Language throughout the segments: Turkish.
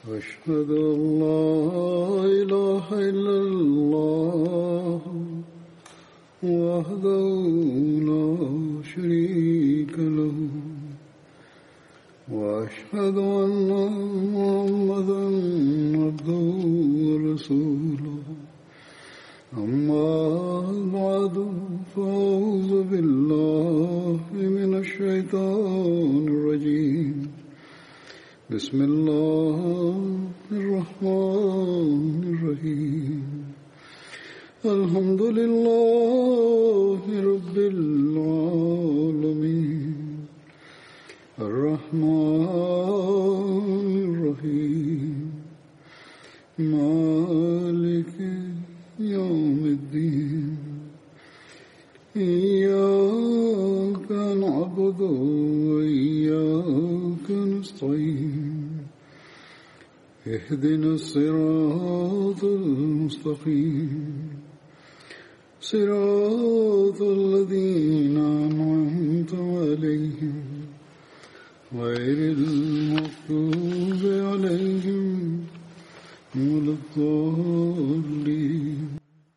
أشهد أن لا إله إلا الله وحده لا شريك له وأشهد أن محمدا عبده ورسوله أما بعد فأعوذ بالله من الشيطان الرجيم بسم الله الرحمن الرحيم الحمد لله رب العالمين الرحمن الرحيم مالك يوم الدين إياك نعبد وإياك نستعين اهدنا الصراط المستقيم صراط الذين أنعمت عليهم غير المغضوب عليهم ولا الضالين.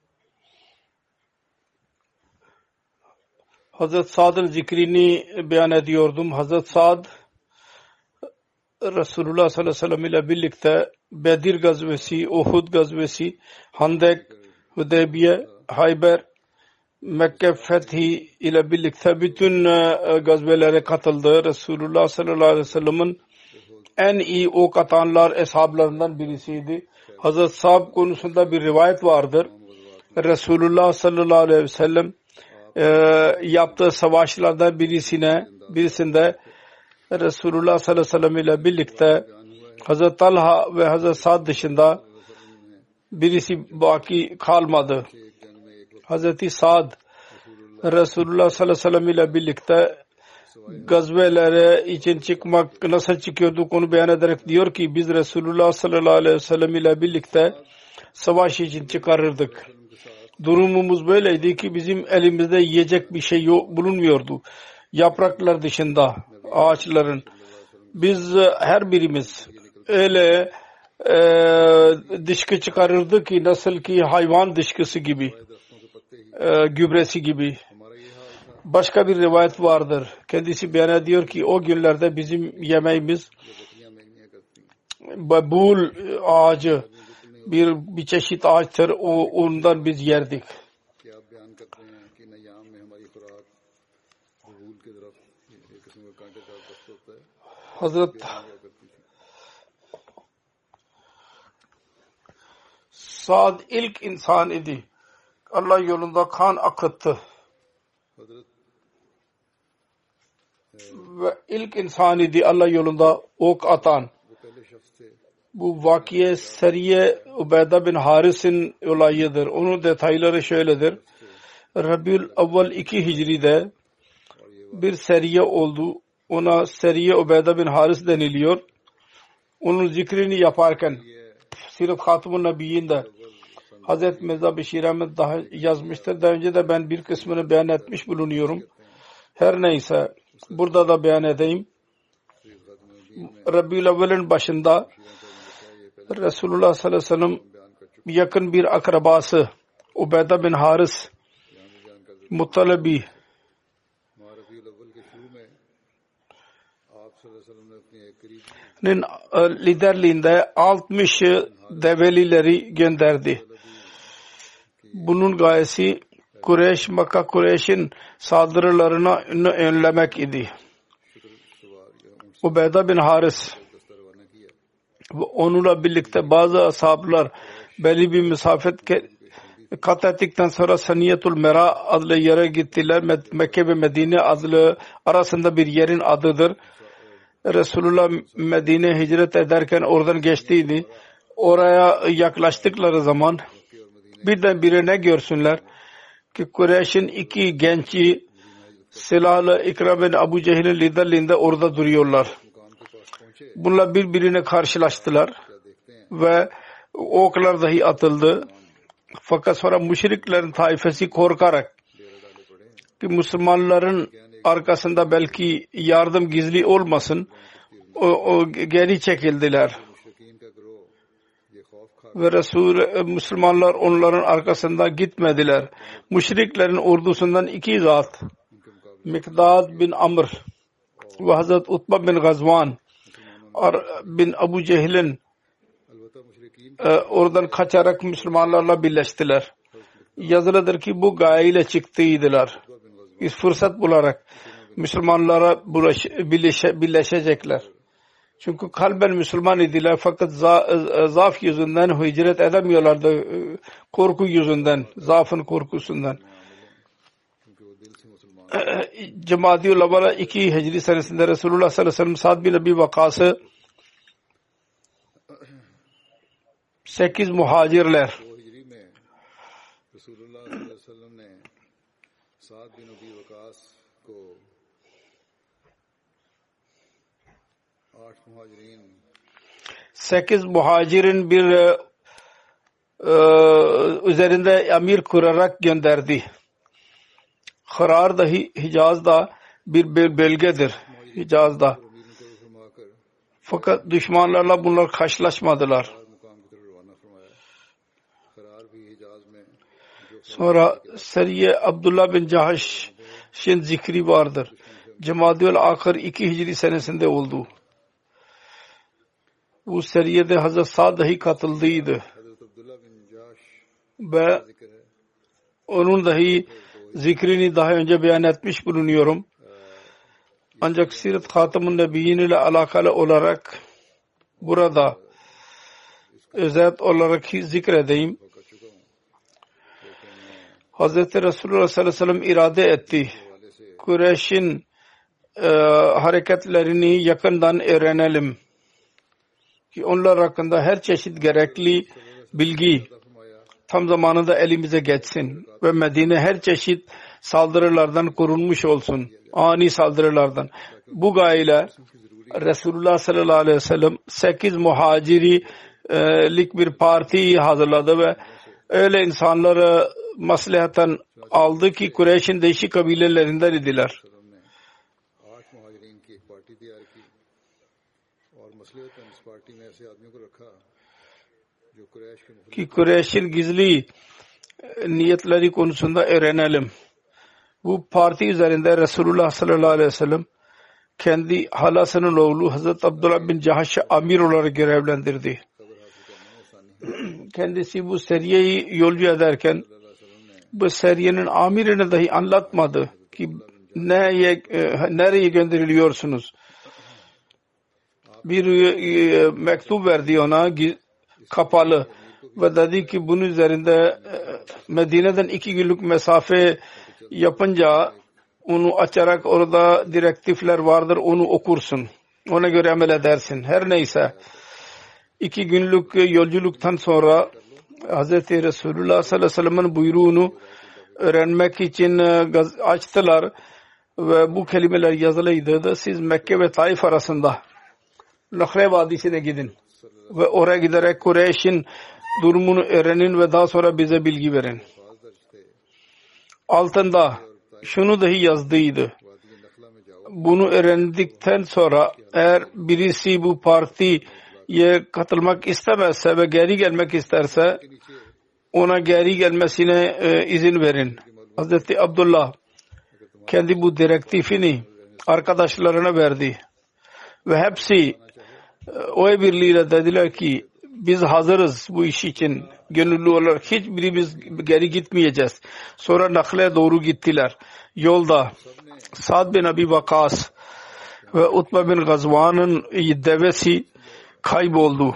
Hazret Sa'd'ın zikrini beyan ediyordum. Hazret Sa'd Resulullah sallallahu aleyhi ve sellem ile birlikte Bedir gazvesi, Uhud gazvesi, Handek, Hudeybiye, Hayber, Mekke fethi ile birlikte bütün gazvelere katıldı. Resulullah sallallahu aleyhi ve sellem'in en iyi ok atanlar eshablarından birisiydi. Hazret Sa'd konusunda bir rivayet vardır. Resulullah sallallahu aleyhi ve sellem yaptığı savaşlardan birisinde Resulullah sallallahu aleyhi ve sellem ile birlikte Hazret Talha ve Hazret Sa'd dışında birisi baki kalmadı. Hazreti Sa'd Resulullah sallallahu aleyhi ve sellem ile birlikte gazvelere için çıkmak nasıl çıkıyordu onu beyan ederek diyor ki biz Resulullah sallallahu aleyhi ve sellem ile birlikte savaş için çıkarırdık. Durumumuz böyleydi ki bizim elimizde yiyecek bir şey bulunmuyordu. Yapraklar dışında ağaçların. Biz her birimiz öyle dışkı çıkarırdı ki nasıl ki hayvan dışkısı gibi, gübresi gibi. Başka bir rivayet vardır. Kendisi beyan ediyor ki o günlerde bizim yemeğimiz babul ağacı bir çeşit ağaçtır. Ondan biz yerdik. Hazret Sa'd ilk insan idi. Allah yolunda kan akıttı. Ve ilk insan idi Allah yolunda ok atan. Bu vakiye Seriye Ubeyda bin Haris'in olayıdır. Onun detayları şöyledir. Rabiul Avval 2 Hicri'de bir seriye oldu. Ona Seriye Ubeyda bin Haris deniliyor. Onun zikrini yaparken Sirat Hatımun Nabiyyi'nde Hazreti Mirza Beşir Ahmet daha yazmıştır. Daha önce de ben bir kısmını beyan etmiş bulunuyorum. Her neyse burada da beyan edeyim. Rabiul Avval'in başında Resulullah sallallahu aleyhi ve sellem yakın bir akrabası Ubeyda bin Haris Muttalibi'nin liderliğinde 60 develileri gönderdi. Bunun gayesi Makka Kureyş'in saldırılarını önlemek idi. Ubeyda bin Haris onunla birlikte bazı ashablar belli bir mesafe kat ettikten sonra Saniyetul Mera adlı yere gittiler. Mekke ve Medine adlı arasında bir yerin adıdır. Resulullah Medine hicret ederken oradan geçtiydi. Oraya yaklaştıkları zaman birdenbire ne görsünler ki Kureyş'in 2 genci silahlı İkram bin Abu Cehil'in liderliğinde orada duruyorlar. Bunlar birbirine karşılaştılar ve oklar dahi atıldı. Fakat sonra müşriklerin taifesi korkarak ki Müslümanların arkasında belki yardım gizli olmasın o geri çekildiler. ve Müslümanlar onların arkasından gitmediler. Müşriklerin ordusundan 2 zat, Mikdad bin Amr ve Hazret Utba bin Gazvan bin Abu Cehil'in oradan kaçarak Müslümanlarla birleştiler. Yazılıdır ki bu gayeyle çıktıydılar. Bir fırsat bularak Müslümanlara birleşecekler. Çünkü kalben Müslüman idiler fakat zaaf yüzünden hicret edemiyorlardı. Korku yüzünden, zaafın korkusundan. Cemaat-i Ulema 2 Hicri senesinde Resulullah sallallahu aleyhi ve sellem Sa'd bin Abi Vakas'ı 8 muhacirler Resulullah sallallahu aleyhi ve sellem ne Sa'd bin Abi Vakas ko 8 muhacirin bir üzerinde emir kurarak gönderdi. Hırar da Hicaz'da bir bölgedir. Hicaz'da. Fakat düşmanlarla bunlar karşılaşmadılar. Sonra Seriye Abdullah bin Cahş'ın zikri vardır. Cemadül Ahir 2 Hicri senesinde oldu. Bu seriyede Hazret Sa'd dahi katıldıydı. Ve onun dahi zikrini daha önce beyan etmiş bulunuyorum. Ancak Sirat Hatam-ı Nebiyyin ile alakalı olarak burada özet olarak zikredeyim. Hazreti Resulullah sallallahu aleyhi ve sellem irade etti. Kureyş'in hareketlerini yakından öğrenelim. Ki onlar hakkında her çeşit gerekli bilgi tam zamanında elimize geçsin. Ve Medine her çeşit saldırılardan korunmuş olsun. Ani saldırılardan. Bu gayeyle Resulullah sallallahu aleyhi ve sellem 8 muhacirilik bir parti hazırladı ve öyle insanları maslahattan aldı ki Kureyş'in değişik kabilelerinden idiler. Ki Kureyş'in gizli niyetleri konusunda öğrenelim. Bu parti üzerinde Resulullah sallallahu aleyhi ve sellem kendi halasının oğlu Hazreti Abdullah bin Cahş'ı amir olarak görevlendirdi. Kendisi bu seriyeyi yolcu ederken bu seriyenin amirine dahi anlatmadı ki nereye gönderiliyorsunuz. Bir mektup verdi ona kapalı ve dedi ki bunun üzerinde Medine'den 2 günlük mesafe yapınca onu açarak orada direktifler vardır, onu okursun. Ona göre amel edersin. Her neyse 2 günlük yolculuktan sonra Hz. Resulullah sallallahu aleyhi ve sellem'in buyruğunu öğrenmek için açtılar ve bu kelimeler yazılıydı da siz Mekke ve Taif arasında Nakhre Vadisi'ne gidin ve oraya giderek Kureyş'in durumunu öğrenin ve daha sonra bize bilgi verin. Altında şunu dahi yazdıydı. Bunu öğrendikten sonra eğer birisi bu partiye katılmak istemezse ve geri gelmek isterse ona geri gelmesine izin verin. Hazreti Abdullah kendi bu direktifini arkadaşlarına verdi. Ve hepsi o birliğiyle dediler ki biz hazırız bu iş için. Gönüllü olarak hiçbirimiz geri gitmeyeceğiz. Sonra Nakle'ye doğru gittiler. Yolda Sa'd bin Abi Vakas ve Utba bin Gazvan'ın devesi kayboldu.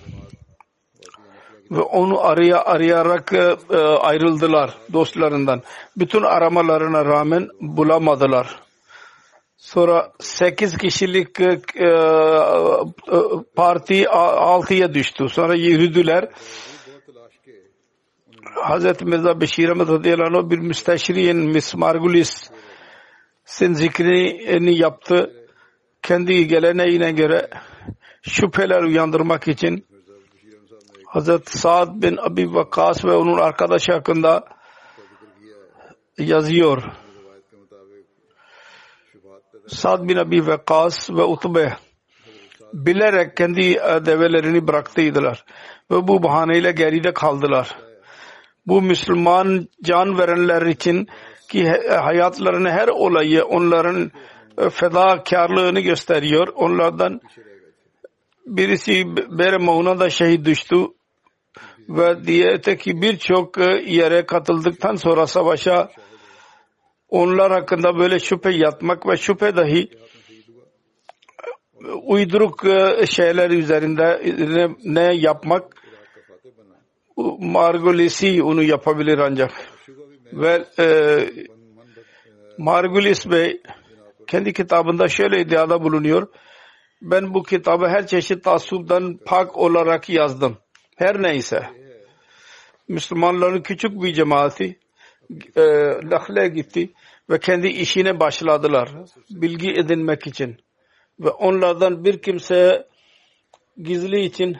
Ve onu arayarak ayrıldılar dostlarından. Bütün aramalarına rağmen bulamadılar. Sonra 8 kişilik parti 6'ya düştü. Sonra yürüdüler. Hazreti Mirza Beşir Ahmet radıyallahu anh bir müsteşriyin Miss Margulis'in zikrini yaptı. Kendi geleneğine göre şüpheler uyandırmak için Hazreti Sa'd bin Abi Vakkas ve onun arkadaşı hakkında yazıyor. Sa'd bin Abi Vakkas ve Utbe bilerek kendi develerini bıraktıydılar ve bu bahaneyle geride kaldılar. Bu Müslüman can verenler için ki hayatlarının her olayı onların fedakarlığını gösteriyor. Onlardan birisi Bere Mauna'da şehit düştü ve diğeri birçok yere katıldıktan sonra savaşa onlar hakkında böyle şüphe yatmak ve şüphe dahi uyduruk şeyler üzerinde ne yapmak Margulis'i onu yapabilir ancak. Ve Margulis Bey kendi kitabında şöyle iddiada bulunuyor. Ben bu kitabı her çeşit taassuptan pak olarak yazdım. Her neyse. Müslümanların küçük bir cemaati Nakle'ye gitti ve kendi işine başladılar. Bilgi edinmek için. Ve onlardan bir kimseye gizli için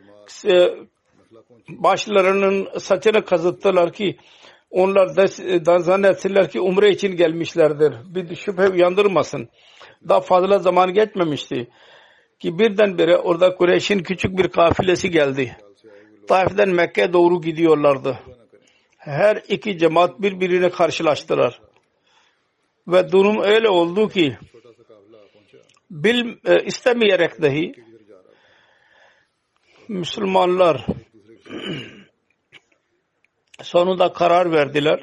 başlarının saçını kazıttılar ki onlar da zannettiler ki umre için gelmişlerdir. Bir şüphe uyandırmasın. Daha fazla zaman geçmemişti ki birdenbire orada Kureyş'in küçük bir kafilesi geldi. Taif'den Mekke'ye doğru gidiyorlardı. Her iki cemaat birbirine karşılaştılar. Ve durum öyle oldu ki istemeyerek dahi Müslümanlar sonunda karar verdiler.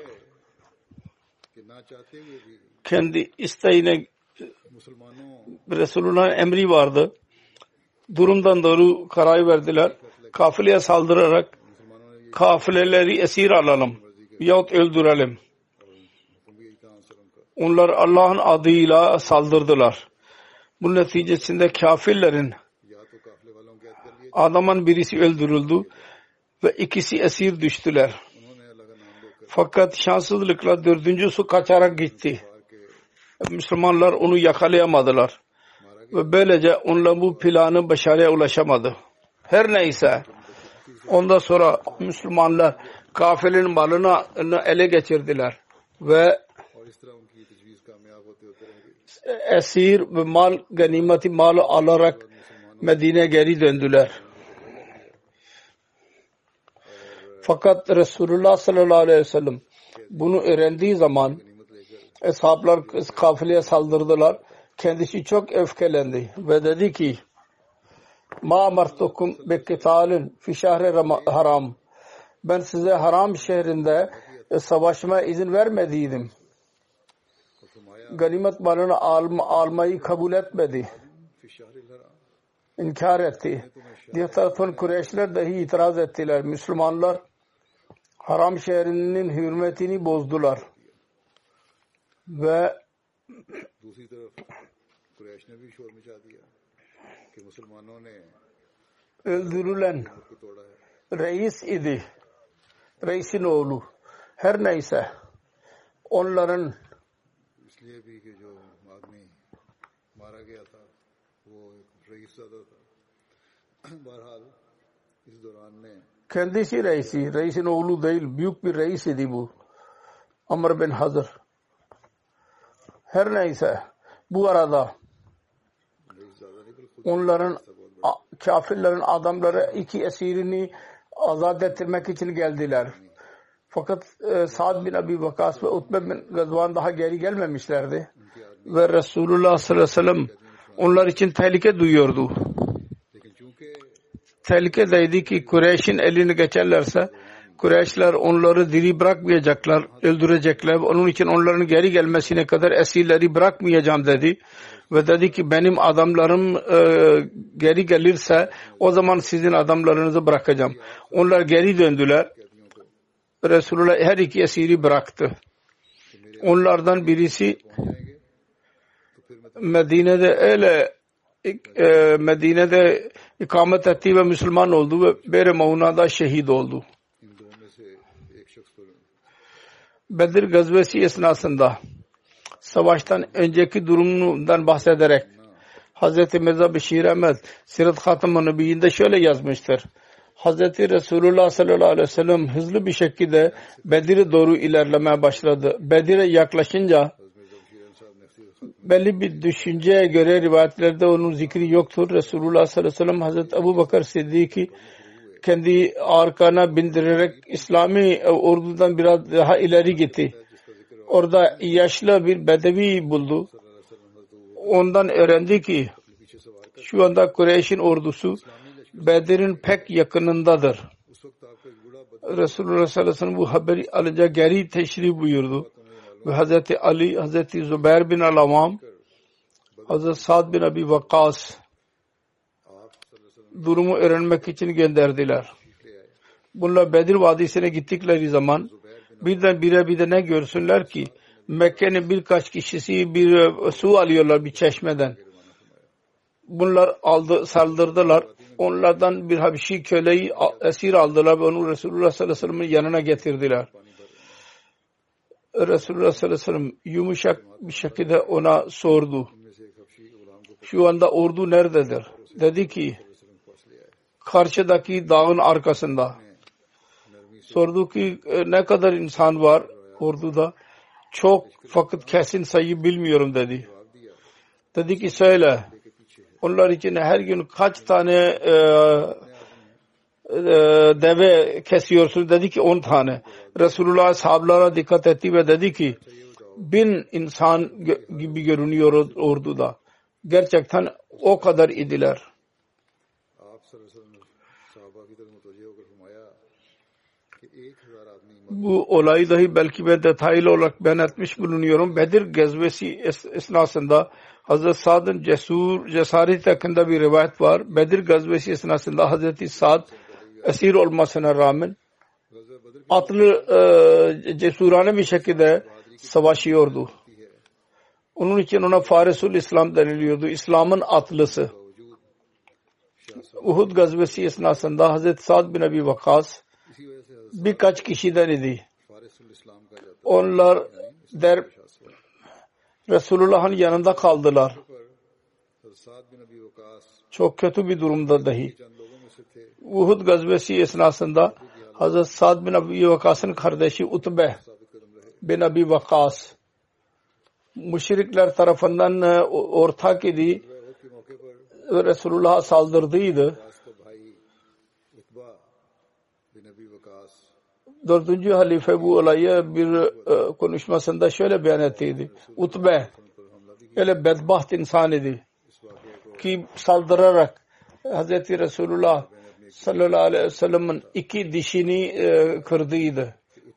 Kendi isteğine Resulullah'ın emri vardı. Durumdan doğru karar verdiler. Kafileye saldırarak kafileleri esir alalım yahut öldürelim. Onlar Allah'ın adıyla saldırdılar. Bu neticesinde kafirlerin adamın birisi öldürüldü ve ikisi esir düştüler. Fakat şanssızlıkla dördüncüsü kaçarak gitti. Müslümanlar onu yakalayamadılar. Ve böylece onunla bu planı başarıya ulaşamadı. Her neyse ondan sonra Müslümanlar kafilerin malını ele geçirdiler ve esir ve mal ganimeti mal alarak Medine'ye geri döndüler. Fakat Resulullah sallallahu aleyhi ve sellem bunu öğrendiği zaman ashablar kafileye saldırdılar. Kendisi çok öfkelendi ve dedi ki ma amartukum bi qitalin fi şehri haram. Ben size haram şehrinde savaşmaya izin vermediydim. Ganimet malını almayı kabul etmedi. İnkar etti. Diğer taraftan Kureyşler dahi itiraz ettiler. Müslümanlar haram şehrinin hürmetini bozdular. Ve öldürülen reis idi. Reisin oğlu. Her neyse onların kendisi reisi. Reisin oğlu değil. Büyük bir reis idi bu. Amr bin Hazır. Her neyse bu arada onların kafirlerin adamları iki esirini azat ettirmek için geldiler. Fakat Sa'd bin Abi Vakas ve Utbe bin Gazvan daha geri gelmemişlerdi. Ve Resulullah sallallahu aleyhi ve sellem onlar için tehlike duyuyordu. Tehlikedeydi ki Kureyş'in elini geçerlerse Kureyşler onları diri bırakmayacaklar, öldürecekler. Onun için onların geri gelmesine kadar esirleri bırakmayacağım dedi. Ve dedi ki benim adamlarım geri gelirse o zaman sizin adamlarınızı bırakacağım. Onlar geri döndüler. Resulullah her iki esiri bıraktı. Onlardan birisi Medine'de ikamet etti ve Müslüman oldu ve Bere Mauna'da şehit oldu. Bedir gazvesi esnasında savaştan önceki durumundan bahsederek Hz. Mirza Beşir Ahmed Sirat Hatam-ı Nebiyyinde şöyle yazmıştır. Hz. Resulullah sallallahu aleyhi ve sellem hızlı bir şekilde Bedir'e doğru ilerlemeye başladı. Bedir'e yaklaşınca belli bir düşünceye göre rivayetlerde onun zikri yoktur. Resulullah sallallahu aleyhi ve sellem Hazreti Ebu Bakır Siddiq'i kendi arkana bindirerek İslami ordudan biraz daha ileri gitti. Orada yaşlı bir bedevi buldu. Ondan öğrendi ki şu anda Kureyş'in ordusu Bedir'in pek yakınındadır. Resulullah sallallahu aleyhi ve sellem bu haberi alınca geri teşrif buyurdu. Ve Hazreti Ali, Hazreti Zübeyir bin Al-Avvam, Hazreti Sa'd bin Abi Vakkas durumu öğrenmek için gönderdiler. Bunlar Bedir Vadisi'ne gittikleri zaman birdenbire bir de ne görsünler ki Mekke'nin birkaç kişisi bir su alıyorlar bir çeşmeden. Bunlar saldırdılar. Onlardan bir Habeşi köleyi esir aldılar ve onu Resulullah sallallahu aleyhi ve sellem'in yanına getirdiler. Resulullah sallallahu aleyhi ve sellem yumuşak bir şekilde ona sordu. Şu anda ordu nerededir? Dedi ki karşıdaki dağın arkasında. Sordu ki ne kadar insan var orduda? Çok, fakat kesin sayı bilmiyorum dedi. Dedi ki söyle. Onlar için her gün kaç tane deve kesiyorsun? Dedi ki 10 tane. Resulullah sahabelara dikkat etti ve dedi ki 1000 insan gibi görünüyor orduda. Gerçekten o kadar idiler. Bu olayı dahi belki ben detaylı olarak beyan etmiş bulunuyorum. Bedir gazvesi esnasında Hazreti Sa'd'ın cesaret hakkında bir rivayet var. Bedir gazvesi esnasında Hazreti Sa'd esir olmasına rağmen atlı cesurane bir şekilde savaşıyordu. Onun için ona Farisul İslam deniliyordu. İslam'ın atlısı. Uhud gazvesi esnasında Hazreti Sa'd bin Abi Vakkas birkaç kişiden idi. Onlar Resulullah'ın yanında kaldılar. Çok kötü bir durumda dahi. Uhud gazvesi esnasında Hazreti Sa'd bin Abi Vakkas'ın kardeşi Utbe bin Abi Vakkas müşrikler tarafından ortak idi ve Resulullah'a saldırdıydı. 4. halife bu olayı bir konuşmasında şöyle beyan ettiydi. Utbe öyle bedbaht insan idi ki saldırarak Hazreti Resulullah sallallahu aleyhi ve sellem'in 2 dişini kırdıydı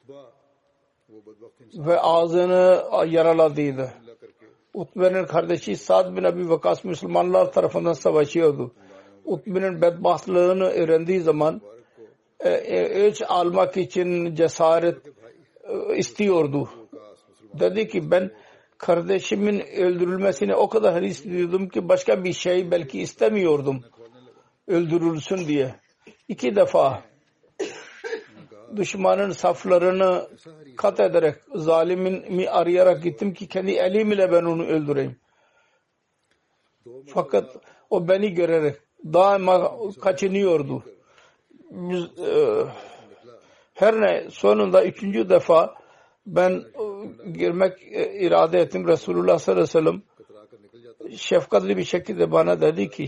ve ağzını yaraladıydı. Utbe'nin kardeşi Sa'd bin Abi Vakkas Müslümanlar tarafından savaşıyordu. Utbe'nin bedbahtlığını öğrendiği zaman ölç almak için cesaret istiyordu. Dedi ki ben kardeşimin öldürülmesine o kadar hırs duyuyordum ki başka bir şey belki istemiyordum öldürülsün diye. 2 defa düşmanın saflarını kat ederek zalimini arayarak gittim ki kendi elimle ben onu öldüreyim. Fakat o beni görerek daima kaçınıyordu. Her ne sonunda 3. defa ben girmek irade ettim. Resulullah sallallahu aleyhi ve sellem şefkatli bir şekilde bana dedi ki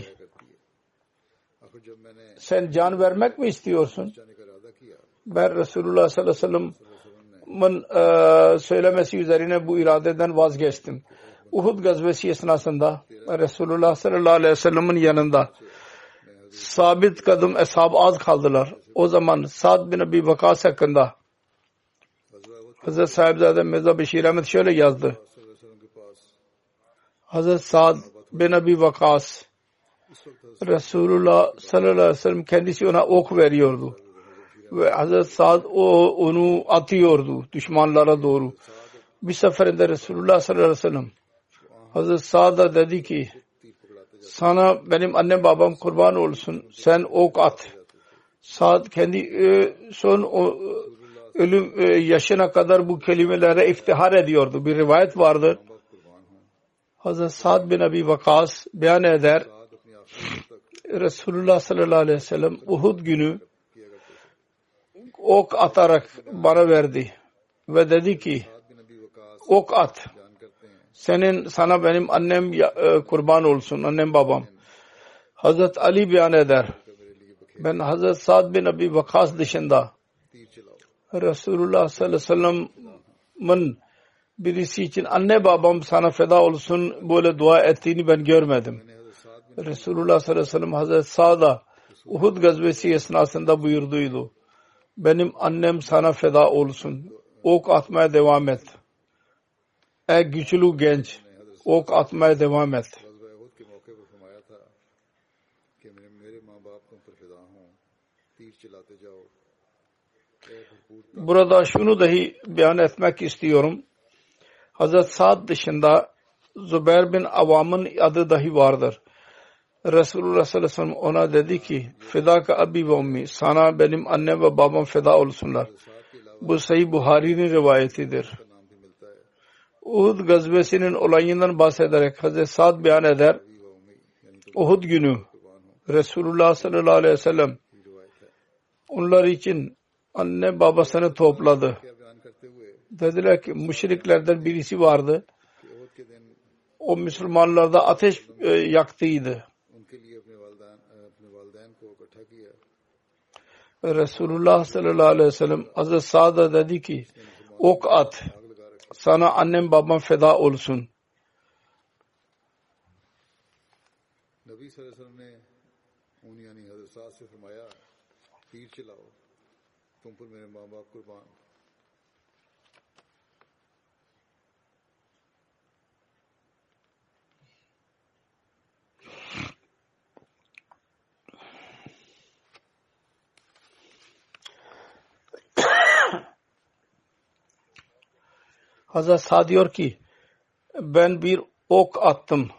sen can vermek mi istiyorsun? Ben Resulullah sallallahu aleyhi ve sellem'in söylemesi üzerine bu iradeden vazgeçtim. Uhud gazvesi esnasında Resulullah sallallahu aleyhi ve sellem'in yanında sabit kadın ashab az kaldılar. O zaman Sa'd bin Abi Vakkas hakkında Hazreti Sahibzade Mirza Beşir Ahmet şöyle yazdı. Hazreti Sa'd bin Abi Vakkas Resulullah sallallahu aleyhi ve sellem kendisi ona ok veriyordu. Ve Hazreti Sa'd onu atıyordu düşmanlara doğru. Bir seferinde Resulullah sallallahu aleyhi ve sellem Hazreti Sa'd'a dedi ki sana benim annem babam kurban olsun sen ok at. Sa'd kendi son ölüm yaşına kadar bu kelimelere iftihar ediyordu. Bir rivayet vardır. Hazreti Sa'd bin Abi Vakkas beyan eder. Resulullah sallallahu aleyhi ve sellem Uhud günü ok atarak bana verdi ve dedi ki ok at. sana benim annem kurban olsun, annem babam. Hazret Ali beyan eder. Ben Hazret Sa'd bin Abi Vakas dışında Resulullah sallallahu aleyhi ve sellem'in birisi için anne babam sana feda olsun böyle dua ettiğini ben görmedim. Resulullah sallallahu aleyhi ve sellem Hazret Sa'd'a Uhud gazvesi esnasında buyurduydu. Benim annem sana feda olsun. Ok atmaya devam et. Ey güçlü genç, ok atmaya devam et. Burada şunu dahi beyan etmek istiyorum. Hazret Sa'd dışında Zübeyir bin Avam'ın adı dahi vardır. Resulullah sallallahu aleyhi ve sellem ona dedi ki fedaka abi ve ummi, sana benim annem ve babam feda olsunlar. Bu Sahih Buhari'nin rivayetidir. Uhud gazvesinin olayından bahsederek Hazret Sa'd beyan eder. Uhud günü Resulullah sallallahu aleyhi ve sellem onlar için anne babasını topladı. Dediler ki müşriklerden birisi vardı. O Müslümanlarda ateş yaktıydı. Resulullah sallallahu aleyhi ve sellem Hazret Sa'd'a dedi ki ok at. Sana annem babam feda olsun. Nabi sallallahu aleyhi ve sellem ne onu yani Hazret Sa'd se firmaya तीर चलाओ तुम पर मेरे माँ बाप कुर्बान. Hazret Sa'd diyor ki ben bir ok attım.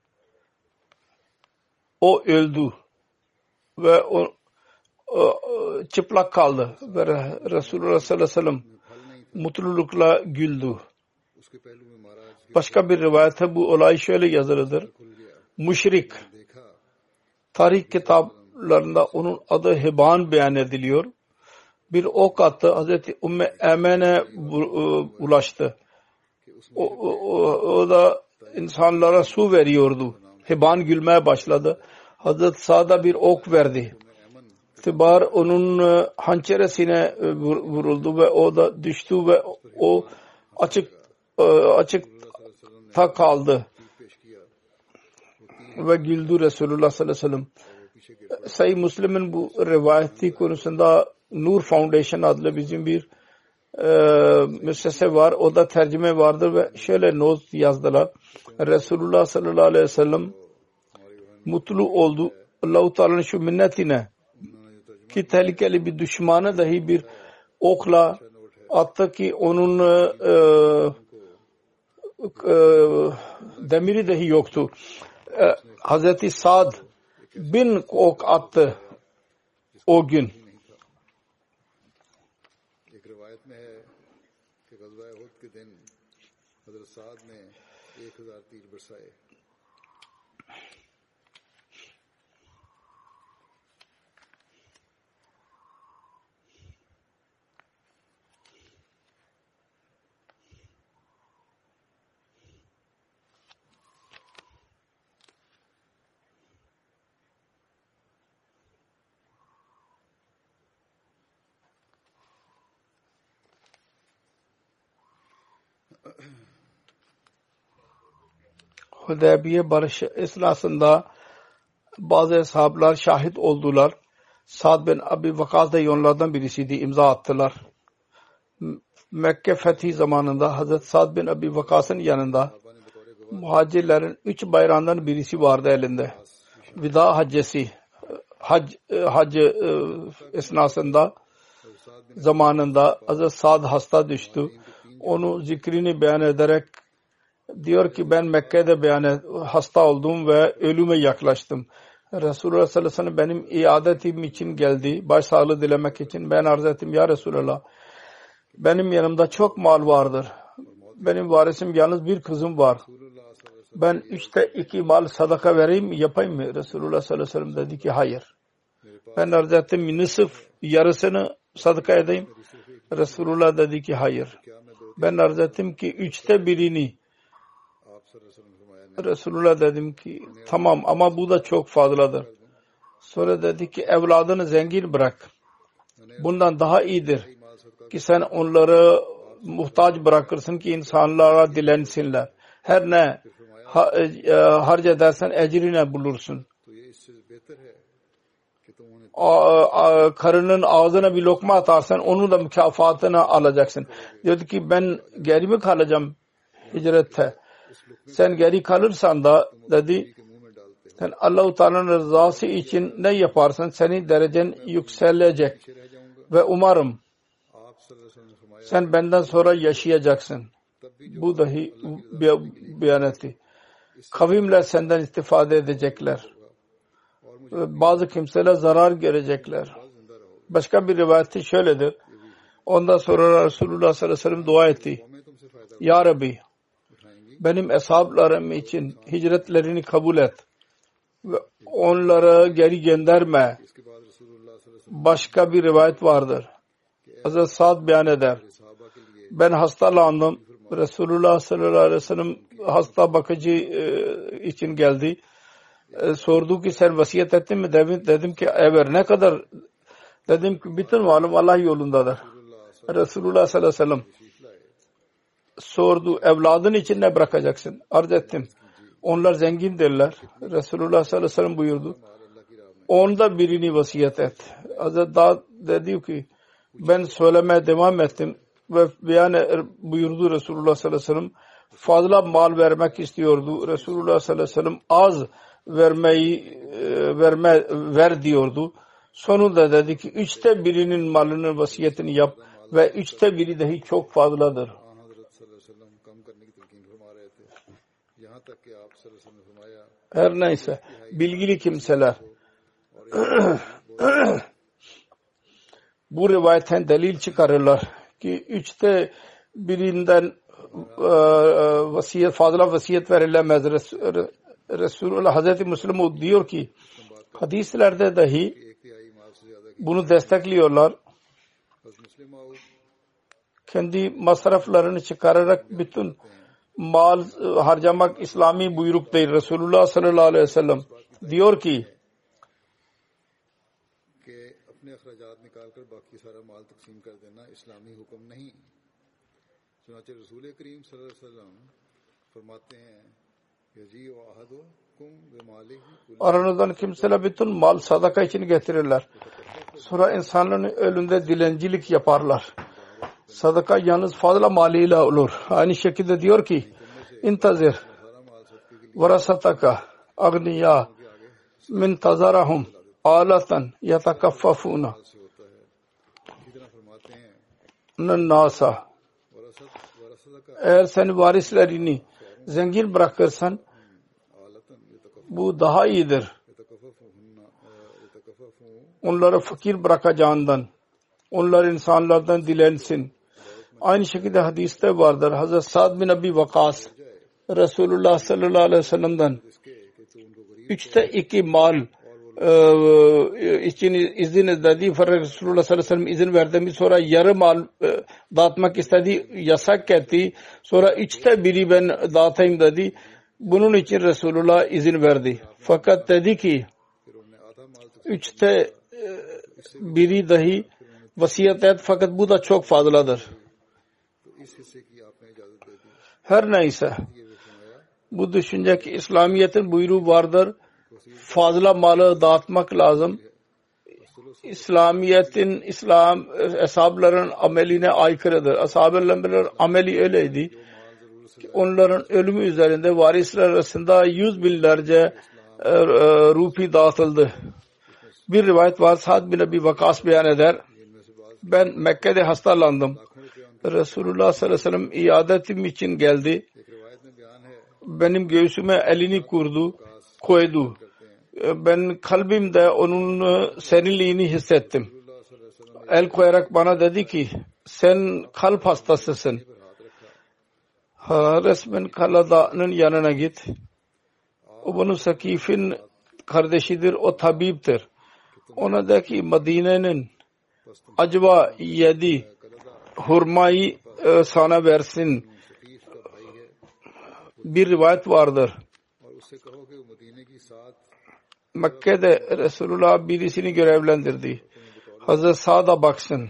O öldü ve o çıplak kaldı ve Resulullah sallallahu aleyhi ve sellem mutlulukla güldü. Başka bir rivayette bu olay şöyle yazılıdır. Müşrik tarih kitaplarında onun adı Hiban beyan ediliyor. Bir ok attı. Hazreti Ümmü Emen'e ulaştı. O da insanlara su veriyordu. Hiban gülmeye başladı. Hazreti Sa'd'a bir ok verdi. Tibar onun hançeresine vuruldu ve o da düştü ve o açıkta kaldı ve güldü Resulullah sallallahu aleyhi ve sellem. Sahih Müslim'in bu rivayeti konusunda Nur Foundation adlı bizim bir müessese var. O da tercüme vardır ve şöyle not yazdılar. Resulullah sallallahu aleyhi ve sellem mutlu oldu. Allah-u Teala'nın şu minnetine ki tehlikeli bir düşmanı dahi bir okla attı ki onun demiri dahi yoktu. Hazreti Sa'd 1000 ok attı o gün. एक रिवायत में है कि ग़ज़वा उहद के दिन हज़रत साद ने 1000 तीर बरसाए. Hudeybiye barışı esnasında bazı sahabeler şahit oldular. Sa'd bin Abi Vakas da onlardan birisiydi. İmza attılar. Mekke fethi zamanında Hazret Sa'd bin Abi Vakas'ın yanında muhacirlerin 3 bayrağından birisi vardı elinde. Vida haccesi. Hac esnasında zamanında Hazret Sa'd hasta düştü. Onu zikrini beyan ederek diyor ki ben Mekke'de hasta oldum ve ölüme yaklaştım. Resulullah sallallahu aleyhi ve sellem benim iadetim için geldi. Başsağlığı dilemek için. Ben arz ettim ya Resulullah. Benim yanımda çok mal vardır. Benim varisim yalnız bir kızım var. Ben 3'te 2 mal sadaka vereyim yapayım mı? Resulullah sallallahu aleyhi ve sellem dedi ki hayır. Ben arz ettim nisf yarısını sadaka edeyim. Resulullah dedi ki hayır. Ben arz ettim ki 3'te 1'ini Resulullah dedim ki tamam ama bu da çok fazladır. Sonra dedi ki evladını zengin bırak. Bundan daha iyidir ki sen onları muhtaç bırakırsın ki insanlara dilensinler. Her ne harc edersen ecrini bulursun. Karının ağzına bir lokma atarsan onun da mükafatını alacaksın. Diyordu ki ben geri mi kalacağım hicrette? Sen geri kalırsan da dedi sen Allah-u Teala'nın rızası için ne yaparsan senin derecen yükselecek ve umarım sen benden sonra yaşayacaksın. Bu dahi beyan etti. Kavimler senden istifade edecekler. Bazı kimseler zarar görecekler. Başka bir rivayeti şöyledir. Ondan sonra Resulullah sallallahu aleyhi ve sellem dua etti. Ya Rabbi benim eshablarım için hicretlerini kabul et ve onları geri gönderme. Başka bir rivayet vardır. Hazreti Sa'd beyan eder. Ben hastalandım. Resulullah sallallahu aleyhi ve sellem hasta bakıcı için geldi. Sordu ki sen vasiyet ettin mi? Dedim ki evet. Ne kadar? Dedim ki bütün malım Allah yolundadır. Resulullah sallallahu aleyhi ve sellem sordu evladın için ne bırakacaksın? Arz ettim. Onlar zengindirler. Resulullah sallallahu aleyhi ve sellem buyurdu. Onda birini vasiyet et. Hazreti Dağ dedi ki ben söylemeye devam ettim ve beyan buyurdu Resulullah sallallahu aleyhi ve sellem fazla mal vermek istiyordu. Resulullah sallallahu aleyhi ve sellem az ver diyordu. Sonunda dedi ki 1/3 malının vasiyetini yap ve 1/3 dahi çok fazladır. Her neyse bilgili kimseler bu rivayetten delil çıkarırlar ki 1/3 fazla vasiyet verilemez. Resulullah Hazreti Müslim diyor ki hadislerde dahi bunu destekliyorlar. Kendi masraflarını çıkararak bütün mal harcamak İslami buyruk değil. Resulullah sallallahu aleyhi ve sellem diyor ki aranızdan kimseler bütün mal sadaka için getirirler. Sonra insanların önünde dilencilik yaparlar. Sadaka yalnız fazla maliyle olur. Aynı şekilde diyor ki intazir varasataka agniya min tazarahum alatan yatakaffafuna nasa. Eğer sen varislerini zengin bırakırsan bu daha iyidir. Onları fakir bırakacağından onlar insanlardan dilensin. Aynı şekilde hadiste vardır. Hazreti Sa'd bin Abi Vakas Resulullah sallallahu aleyhi ve sellem'den 2/3 mal için izin istedi. Fakat Resulullah sallallahu aleyhi ve sellem izin verdi. Sonra yarı mal dağıtmak istedi. Yasak etti. Sonra 1/3 ben dağıtayım dedi. Bunun için Resulullah izin verdi. Fakat dedi ki 1/3 dahi vasiyet et fakat bu da çok fazladır. Her neyse bu düşünce ki İslamiyet'in buyruğu vardır. Fazla malı dağıtmak lazım. İslamiyet'in ashabların ameline aykırıdır. Ashab-ı ameli öyleydi ki onların ölümü üzerinde varisler arasında 100.000'lerce rupi dağıtıldı. Bir rivayet var. Sa'd bin Abi Vakas beyan eder. Ben Mekke'de hastalandım. Resulullah sallallahu aleyhi ve sellem iadetim için geldi. Benim göğsüme elini koydu. Ben kalbimde onun serinliğini hissettim. El koyarak bana dedi ki sen kalp hastasısın. Resmen Kalada'nın yanına git. O bunun Sakif'in kardeşidir. O tabiptir. Ona de ki Medine'nin acaba yedi hurmayı sana versin. Bir rivayet vardır. उससे कहो कि वो मदीने की 7 Mekke'de Resulullah birisini görevlendirdi. Hazreti Sa'd'a baksın.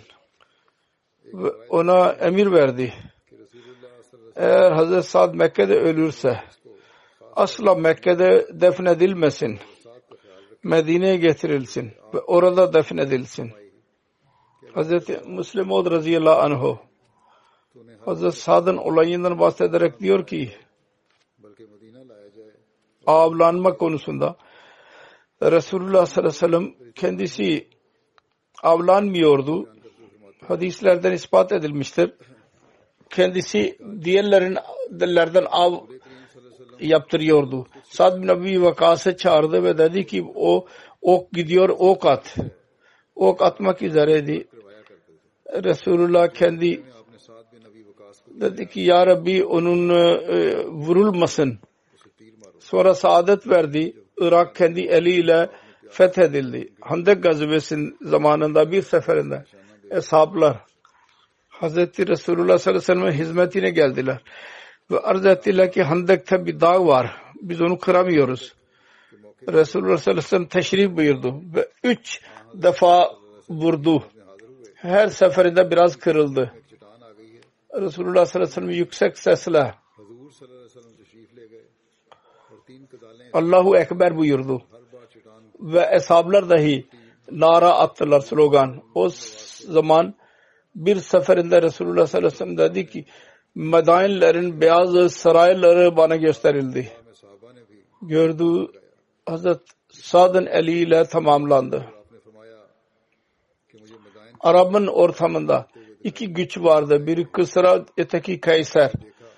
Ve ona emir verdi. कि रसूलुल्लाह सल्लल्लाहु Eğer Hazreti Sa'd Mekke'de ölürse asla Mekke'de defnedilmesin. अलैहि वसल्लम का ख्याल रखें Medine'ye getirilsin ve orada defnedilsin. Hazreti Müslim Maud radıyallahu anhu तूने Hazreti Sa'd'ın olayından bahsederek diyor ki बल्कि मदीना लाया जाए avlanma konusunda Resulullah sallallahu aleyhi ve sellem kendisi avlanmıyordu. Hadislerden ispat edilmiştir. Kendisi diğerlerden av yaptırıyordu. Sa'd bin Abi Vakas'ı çağırdı ve dedi ki o ok gidiyor, ok at. Ok atmak üzereydi. Resulullah kendi आपने साद बिन नबी वकास को dedi ki ya Rabbi onun vurulmasın. उसे तीर मारो Sonra saadet verdi. Irak kendi eliyle fethedildi. Handek gazvesinin zamanında bir seferinde eshablar Hazreti Resulullah sallallahu aleyhi ve sellem'in hizmetine geldiler. Ve arz ettiler ki Handek'te bir dağ var. Biz onu kıramıyoruz. Resulullah sallallahu aleyhi ve sellem teşrif buyurdu. Ve 3 defa vurdu. Her seferinde biraz kırıldı. चट्टान आ गई है Resulullah sallallahu aleyhi ve sellem yüksek sesle हजूर सल्लल्लाहु अलैहि वसल्लम तशरीफ ले गए और 3 कदालें Allahu Ekber buyurdu. हर बार चट्टान Ve eshablar dahi nara attılar, slogan. O zaman bir seferinde Resulullah sallallahu aleyhi ve sellem dedi ki Medainlerin beyaz sarayları bana gösterildi. में साहबा ने भी Gördüğü Hazret Sa'd'ın eliyle tamamlandı. आपने फरमाया कि मुझे Madain Arap'ın ortamında 2 güç vardı. Biri Kısra, öteki Kayser.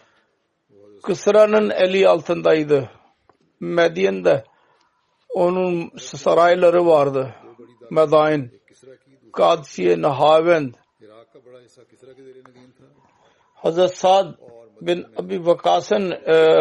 Kısra'nın eli altındaydı. Medyen'de onun sarayları vardı. Medain, Keesara की Kadsiye, Nahavend. Iraq का बड़ा हिस्सा किसरा के ज़ेरे नगीन था Hazret Sa'd bin Abi Vakas'ın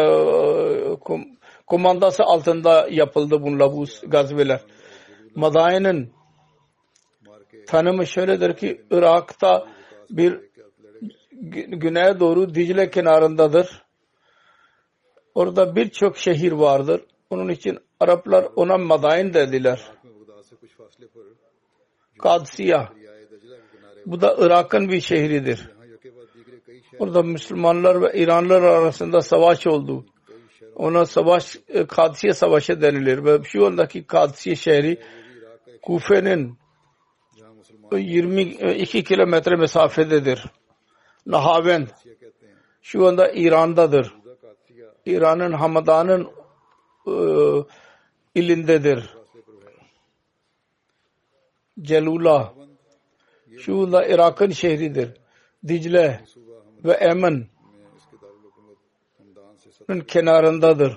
kumandası altında yapıldı bunlar bu gazveler. Madain'in मार के tanımı şöyledir ki Irak'ta bir güneye doğru Dicle kenarındadır. Orada birçok şehir vardır. Onun için Araplar ona Madain dediler. में बगदाद से कुछ फासले पर Kadsiya. दरियाए दजला के किनारे Bu da Irak'ın bir şehridir. यहाँ यके बाद दीगरे कई शहर Orada Müslümanlar ve İranlılar arasında savaş oldu. Ona savaş Kadsiye Savaşı denilir ve şu andaki Kadsiye şehri Kufe'nin जहाँ मुसलमान 22 kilometre mesafededir. Nahavend ये कहते हैं şu anda İran'dadır. खुदा कादसिया İran'ın Hamadan'ın ilindedir. फासले पर है Celula şu anda Irak'ın şehridir. Dicle सूबा हम ve Emen में इसके दारुल हुकूमत हमदान से kenarındadır.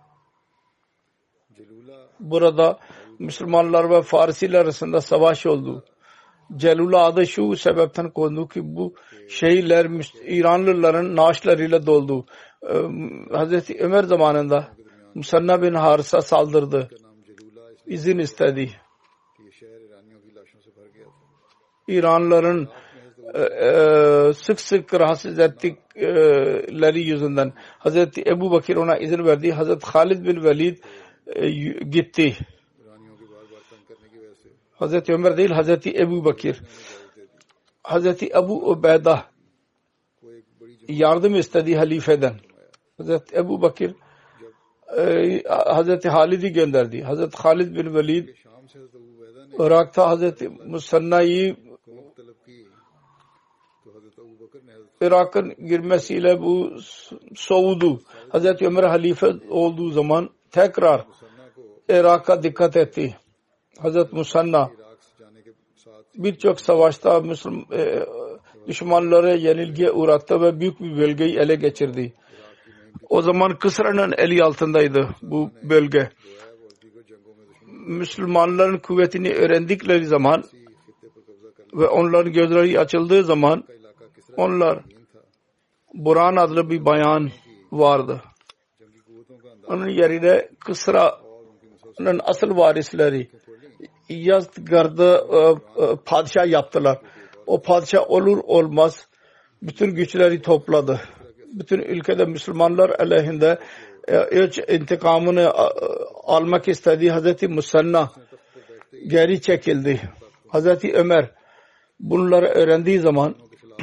जलूला Burada Müslümanlar ve Farsiler arasında savaş oldu. Celula adı şu sebepten kondu ki bu şehirler İranlıların naaşlarıyla doldu. Hazreti Ömer zamanında Musanna bin Harisa saldırdı. का नाम जलूला इसलिए İzin istedi. कि ये शहर ईरानियों की लाशों से भर गया था İranlıların sık sık rahatsız ettikleri yüzünden Hazreti Ebu Bakir ona izin verdi. Hazreti Halid bin Velid gitti. ईरानियों के बार बार तंग करने की वजह से Hazreti Ömer değil, Hazreti Ebu Bakir. Hazreti Ebu Ubeyda वो एक बड़ी yardım istedi halifeden. Hazreti Ebu Bakir Hazreti Halid'i gönderdi. Hazreti Halid bin Velid शाम से हज़रत अबू बैदा ने Irak'ta Hazreti Musanna'yı कोमक तलब की तो हज़रत अबू बकर ने हज़रत Irak'ın girmesiyle bu soğudu. Hazreti Ömer halife olduğu zaman tekrar Muthanna को Irak'a dikkat etti. Hazreti Musanna Iraq से जाने के साथ birçok savaşta düşmanları yenilgiye uğrattı ve büyük bir bölgeyi ele geçirdi. O zaman Kısra'nın eli altındaydı bu bölge. जो है वो दीगर जंगों में दुश्मन Müslümanların kuvvetini öğrendikleri zaman की खित्ते पर कब्जा कर ve onların gözleri açıldığı zaman का इलाका किसरा onlar ज़मीन था Buran adlı bir bayan vardı. जंगी कुव्वतों का अंदाज़ा Onun yerine Kısra'nın asıl varisleri Yazdgar'da padişah yaptılar. O padişah olur olmaz bütün güçleri topladı. Bütün ülkede Müslümanlar aleyhinde intikamını almak istediği Hazreti Musanna geri çekildi. Hazreti Ömer bunları öğrendiği zaman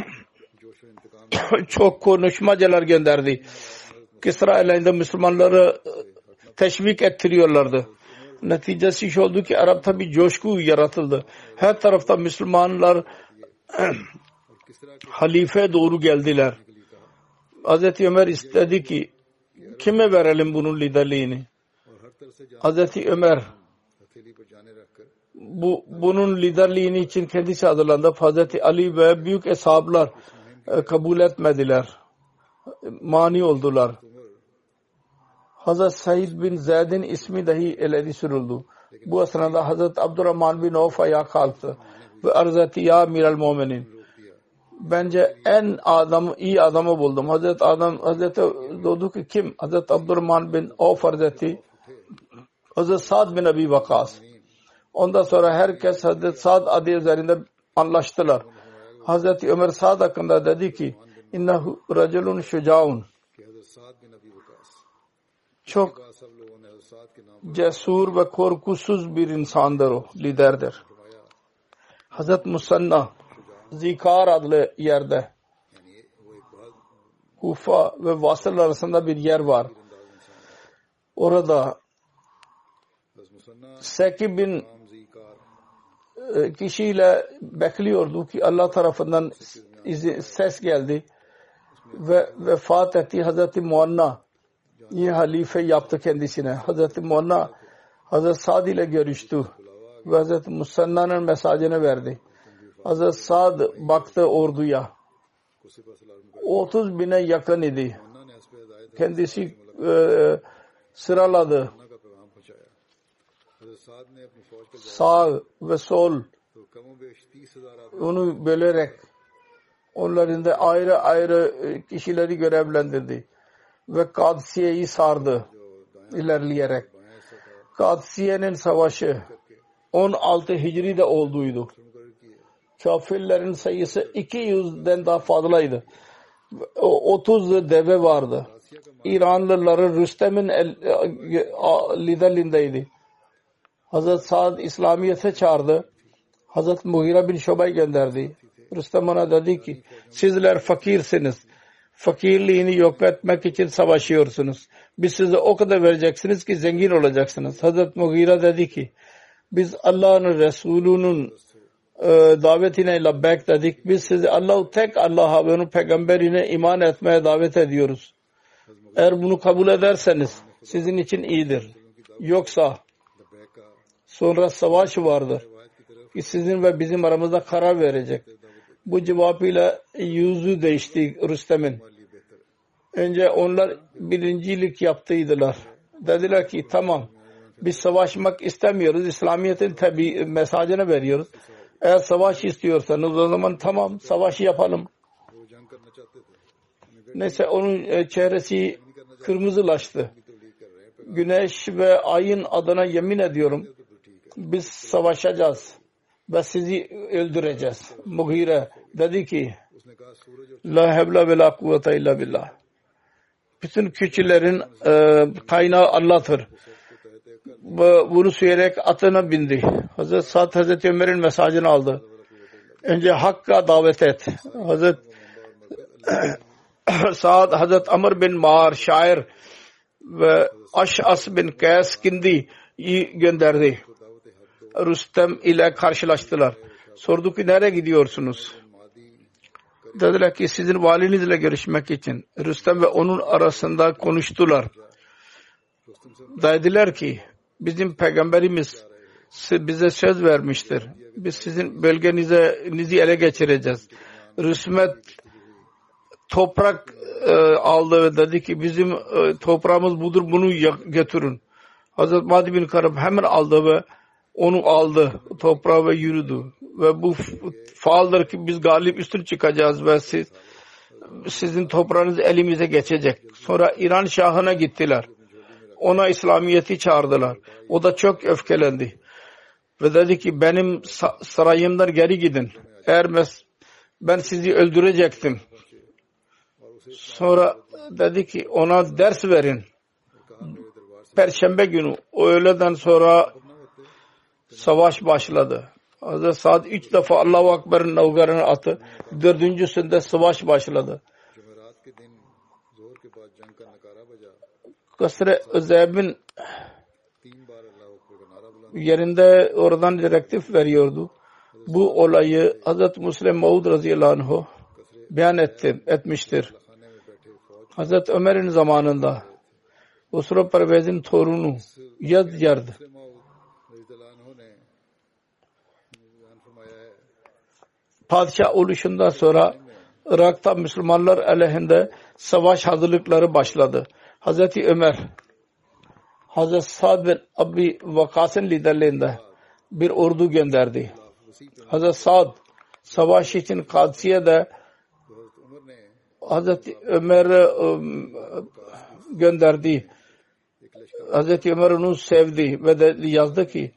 çok konuşmacılar gönderdi. Kisra aleyhinde Müslümanları teşvik ettiriyorlardı. Neticesi şu oldu ki Arap'ta bir coşku yaratıldı. Her tarafta Müslümanlar halife doğru geldiler. Hazreti Ömer istedi ki kime verelim bunun liderliğini? Hazreti Ömer bunun liderliğini için kendisi hazırlandı. Hazreti Ali ve büyük eshablar kabul etmediler. Mani oldular. Hazreti Said bin Zeyd'in ismi dahi ileri sürüldü. Bu esnada Hazreti Abdurrahman bin Avf ayağa kalktı ve arz etti, ya Amiral Mu'minin, bence en iyi adamı buldum. Hazreti doğdu ki kim? Hazreti Abdurrahman bin Avf arz etti. Hazreti Sa'd bin Abi Vakas. Ondan sonra herkes Hazreti Sa'd adı üzerinde anlaştılar. Hazreti Ömer Sa'd hakkında dedi ki innehu raculun şucaun, çok cesur ve korkusuz bir insandır o, liderdir. Hazreti Musanna Zikar adlı yerde Kufa ve Vasıl arasında bir yer var. Orada 8.000 kişiyle bekliyordu ki Allah tarafından ses geldi ve vefat etti. Hazreti Muanna yine halife yaptı kendisine. Hazreti Muanna Hazreti Sa'd ile görüştü ve Hazreti Musanna'nın mesajını verdi. Hazreti Sa'd baktı orduya. 30.000'e yakın idi. Kendisi sıraladı. Sağ ve sol onu bölerek onların da ayrı ayrı kişileri görevlendirdi ve Kadsiye'yi sardı ilerleyerek. Kadsiye'nin savaşı 16 Hicri'de olduydu. Kafirlerin sayısı 200'den daha fazlaydı. 30 deve vardı. İranlıların Rüstem'in liderliğindeydi. Hazreti Sa'd İslamiyet'e çağırdı. Hazreti Mughira bin Şuba'yı gönderdi. Rüstem ona dedi ki sizler fakirsiniz. Fakirliğini yok etmek için savaşıyorsunuz. Biz size o kadar vereceksiniz ki zengin olacaksınız. Hazreti Mughira dedi ki biz Allah'ın Resulü'nün davetine labbek dedik. Biz sizi tek Allah'a ve onun peygamberine iman etmeye davet ediyoruz. Eğer bunu kabul ederseniz sizin için iyidir. Yoksa sonra savaş vardır ki sizin ve bizim aramızda karar verecek. Bu cevabıyla yüzü değişti Rüstem'in. Önce onlar birincilik yaptıydılar. Dediler ki tamam biz savaşmak istemiyoruz. İslamiyet'in tabi mesajını veriyoruz. Eğer savaş istiyorsanız o zaman tamam savaşı yapalım. Neyse onun çehresi kırmızılaştı. Güneş ve ayın adına yemin ediyorum biz savaşacağız ve sizi öldüreceğiz. Mughire dedi ki la hevle ve la kuvvete illa billah. Bütün küçüklerin kaynağı Allah'tır. Bunu söyleyerek atına bindi. Hazreti Sa'd Hazreti Ömer'in mesajını aldı. Önce Hakk'a davet et. Hazreti Sa'd Hazreti Amr bin Mağar şair ve Aş'as bin Kays Kindi'yi gönderdi. Rüstem ile karşılaştılar. Sordu ki nereye gidiyorsunuz? Dediler ki sizin valinizle görüşmek için. Rüstem ve onun arasında konuştular. Dediler ki bizim peygamberimiz bize söz vermiştir. Biz sizin bölgenizi ele geçireceğiz. Rüsmet toprak aldı ve dedi ki bizim toprağımız budur, bunu götürün. Hazreti Madi bin Karab hemen aldı ve onu aldı toprağa ve yürüdü. Ve bu faaldır ki biz galip üstün çıkacağız ve sizin toprağınız elimize geçecek. Sonra İran Şahı'na gittiler. Ona İslamiyet'i çağırdılar. O da çok öfkelendi. Ve dedi ki benim sarayımdan geri gidin. Eğer ben sizi öldürecektim. Sonra dedi ki ona ders verin. Perşembe günü öğleden sonra savaş başladı. Hazreti Sa'd 3 defa Allahu Ekber'in navgarını attı. 4.sünde savaş başladı. Kasr-ı Zeyb'in yerinde oradan direktif veriyordu. Bu olayı Hazreti Müslim Maud radıyallahu anh beyan etmiştir. Hazreti Ömer'in zamanında Usra Pervez'in torunu Yazyard padişah oluşundan sonra Irak'ta Müslümanlar aleyhinde savaş hazırlıkları başladı. Hazreti Ömer Hazreti Sa'd bin Abi Vakas'ın liderliğinde bir ordu gönderdi. Hazreti Sa'd savaş için Kadsiye'de Hazreti Ömer gönderdi. Hazreti Ömer onu sevdi ve de yazdı ki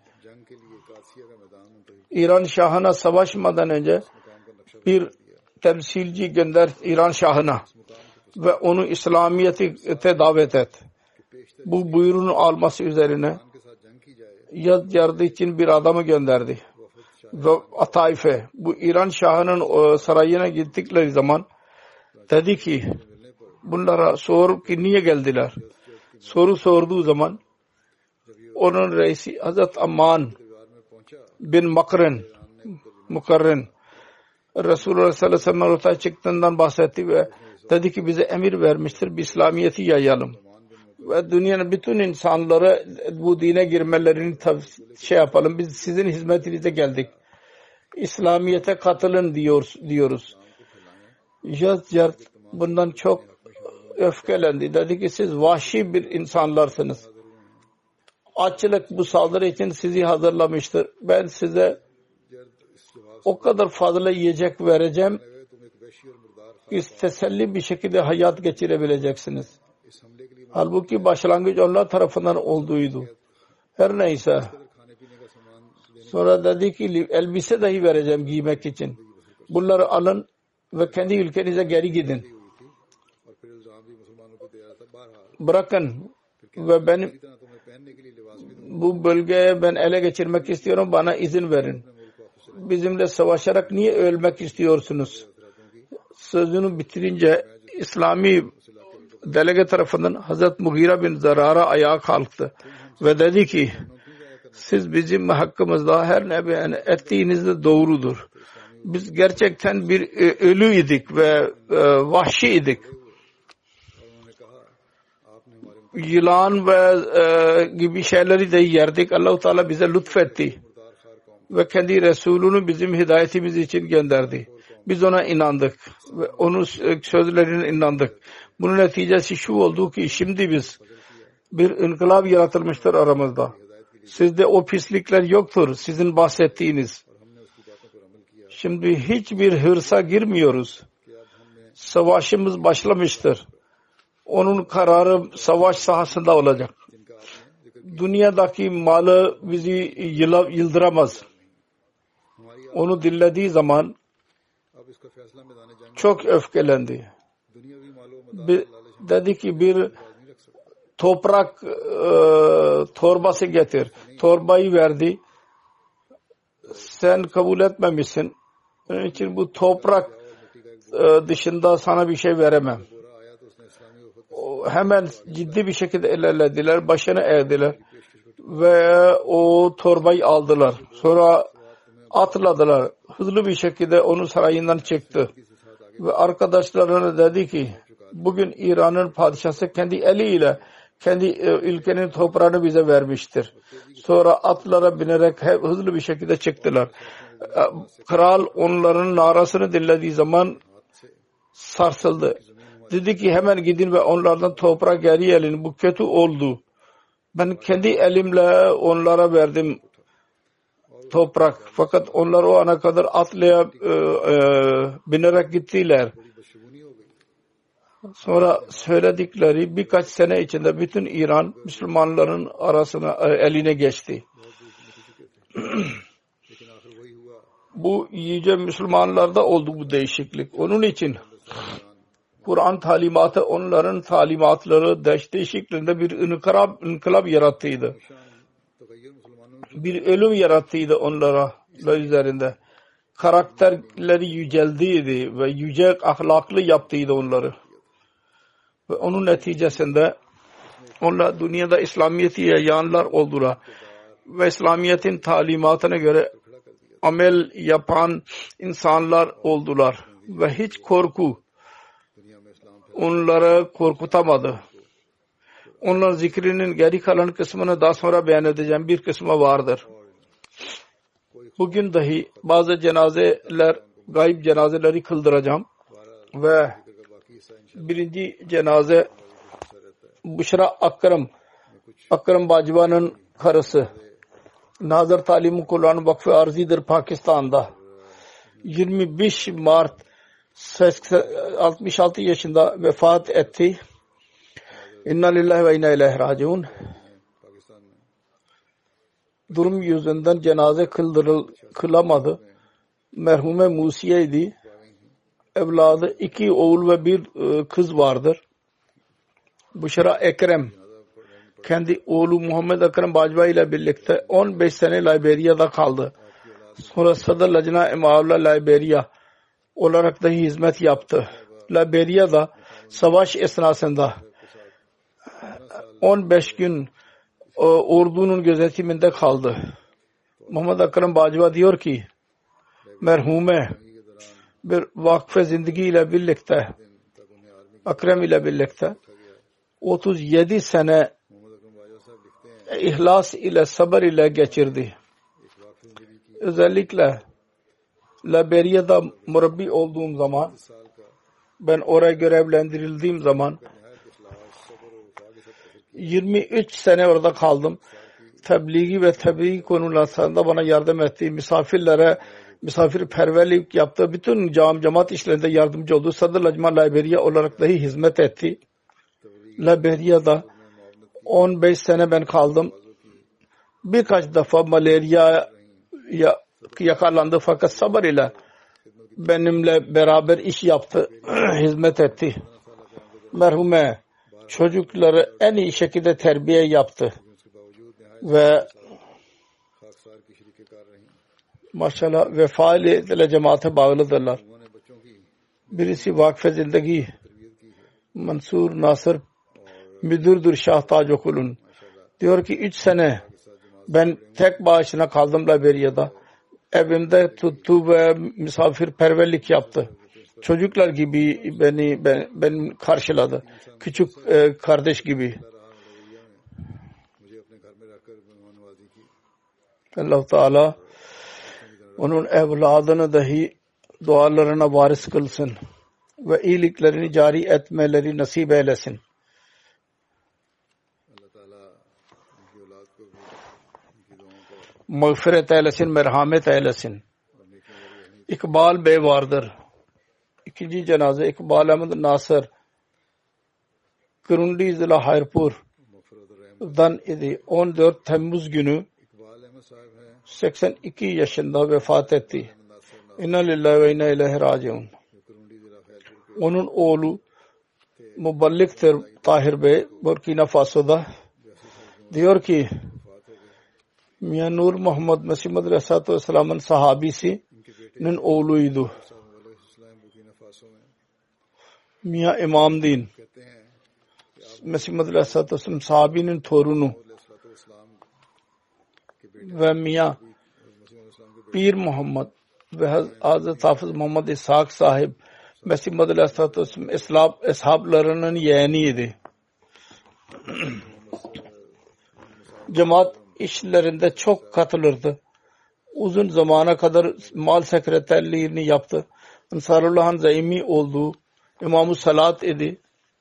İran Şahı'na savaşmadan önce bir temsilci gönder İran Şahı'na ve onu İslamiyet'e davet et. Bu buyruğunu alması üzerine yardı için bir adamı gönderdi. Ve Taif'e bu İran Şahı'nın sarayına gittikleri zaman dedi ki bunlara sor ki niye geldiler? Soru sorduğu zaman onun reisi Hazret Amman bin Mukarren Resulullah sallallahu aleyhi ve sellem ortaya çıktığından bahsetti ve dedi ki bize emir vermiştir bir İslamiyet'i yayalım ve dünyanın bütün insanları bu dine girmelerini yapalım. Biz sizin hizmetinize geldik. İslamiyet'e katılın diyoruz. Yazyard bundan çok öfkelendi. Dedi ki siz vahşi bir insanlarsınız. Açlık bu saldırı için sizi hazırlamıştır. Ben size o kadar fazla yiyecek vereceğim ki teselli bir şekilde hayat geçirebileceksiniz. Halbuki başlangıç onlar tarafından olduğuydu. Her neyse. Sonra dedi ki elbise dahi vereceğim giymek için. Bunları alın ve kendi ülkenize geri gidin. Bırakın ve benim bu bölgeye ben ele geçirmek istiyorum. Bana izin verin. Bizimle savaşarak niye ölmek istiyorsunuz? Sözünü bitirince İslami delege tarafından Hazreti Mughira bin Zarara ayağa kalktı ve dedi ki siz bizim hakkımızda her ne beyan ettiğiniz de doğrudur. Biz gerçekten bir ölü idik ve vahşi idik. Yılan ve gibi şeyleri de yerdik. Allah-u Teala bize lütfetti ve kendi Resulünü bizim hidayetimiz için gönderdi. Biz ona inandık ve onun sözlerine inandık. Bunun neticesi şu oldu ki şimdi biz bir inkılap yaratılmıştır aramızda. Sizde o pislikler yoktur sizin bahsettiğiniz. Şimdi hiçbir hırsa girmiyoruz. Savaşımız başlamıştır. Onun kararı savaş sahasında olacak. Dünyadaki malı bizi yıldıramaz. Onu dinlediği zaman çok öfkelendi. Dedi ki bir toprak torbası getir. Torbayı verdi. Sen kabul etmemişsin. Onun için bu toprak dışında sana bir şey veremem. Hemen ciddi bir şekilde ilerlediler. Başını eğdiler. Ve o torbayı aldılar. Sonra atladılar. Hızlı bir şekilde onun sarayından çıktı. Ve arkadaşlarına dedi ki bugün İran'ın padişahı kendi eliyle kendi ülkenin toprağını bize vermiştir. Sonra atlara binerek hızlı bir şekilde çıktılar. Kral onların narasını dinlediği zaman sarsıldı. Dedi ki hemen gidin ve onlardan toprak geri alın. Bu kötü oldu. Ben kendi elimle onlara verdim toprak. Fakat onlar o ana kadar atlaya binerek gittiler. Sonra söyledikleri birkaç sene içinde bütün İran Müslümanların arasına eline geçti. Bu iyice Müslümanlarda oldu bu değişiklik. Onun için Kur'an talimatı onların talimatları dehşet şeklinde bir inkılap yarattıydı. Bir ölüm yarattıydı onlara üzerinde. Karakterleri yüceldiydi ve yüce ahlaklı yaptıydı onları. Ve onun neticesinde onlar dünyada İslamiyet'i yayanlar oldular. Ve İslamiyet'in talimatına göre amel yapan insanlar oldular. Ve hiç korku onları korkutamadı. Onlar zikrinin geri kalan kısmını daha sonra beyan edeceğim. Bir kısmı vardır. Bugün dahi bazı cenazeler, gayb cenazeleri kıldıracağım. Ve birinci cenaze Büşra Akram Bacva'nın karısı. Nazır Talim-i Kur'an Vakfı Arzi'dir Pakistan'da. 25 Mart 66 yaşında vefat etti. İnna lillahi ve inna ileyhi raciun. Durum yüzünden cenaze kılamadı. Merhume Musiye'ydi. Evladı 2 oğul ve 1 kız vardır. Büşra Ekrem kendi oğlu Muhammed Akram Bacva ile birlikte 15 sene Liberya'da kaldı. Sonra Sadr Lajna İmavla Liberya olarak da hizmet yaptı. Liberya'da savaş esnasında 15 gün ordunun gözetiminde kaldı. Muhammed Akram Bacva diyor ki merhume bir vakfe zindagi ile birlikte Akram ile birlikte 37 sene ihlas ile sabır ile geçirdi. Özellikle Liberya'da murabbi olduğum zaman, ben oraya görevlendirildiğim zaman 23 sene orada kaldım. Tebliği ve tebliğ konularında bana yardım etti. Misafirperverlik yaptı. Bütün cemaat işlerinde yardımcı oldu. Sadr Lajma Liberya olarak dahi hizmet etti. Liberya'da 15 sene ben kaldım. Birkaç defa malaria yakalandı fakat sabır ile benimle beraber iş yaptı, hizmet etti. Merhume çocukları en iyi şekilde terbiye yaptı ve maşallah vefa ile cemaate bağlıdırlar. Birisi Vakfe Zindagi Mansur Nasır müdürdür Şah Tac Okul'un. Diyor ki 3 sene ben tek başına kaldım Liberya'da. Evimde tuttu ve misafirperverlik yaptı. Çocuklar gibi beni karşıladı. Küçük kardeş gibi. Allah Teala onun evladını dahi dualarına varis kılsın ve iyiliklerini cari etmeleri nasip eylesin. Mağfiret eylesin, merhamet eylesin. İkbal Bey vardır. İkinci cenaze İkbal Ahmed Nasır Kurundi Zila Hayrpur'dan idi. 14 Temmuz günü 82 yaşında vefat etti. İnna lillahi ve inna ileyhi raciun. Onun oğlu Muballik'tir Tahir Bey Burkina Faso'da. Diyor ki Miyan Nur Muhammed Mesih Madri Aleyhisselatü Vesselam'ın sahabisinin oğluydu. Miyan İmam Din Mesih Madri Aleyhisselatü Vesselam sahabinin torunu ve Miyan Pir Muhammed ve Hazreti Hafız Muhammed İshak sahip Mesih Madri Aleyhisselatü Vesselam eshablarının yeğeniydi. Cemaat işlerinde çok katılırdı. Uzun zamana kadar mal sekreterliğini yaptı. Ansarullah'ın zaimi olduğu İmam-ı Salat idi.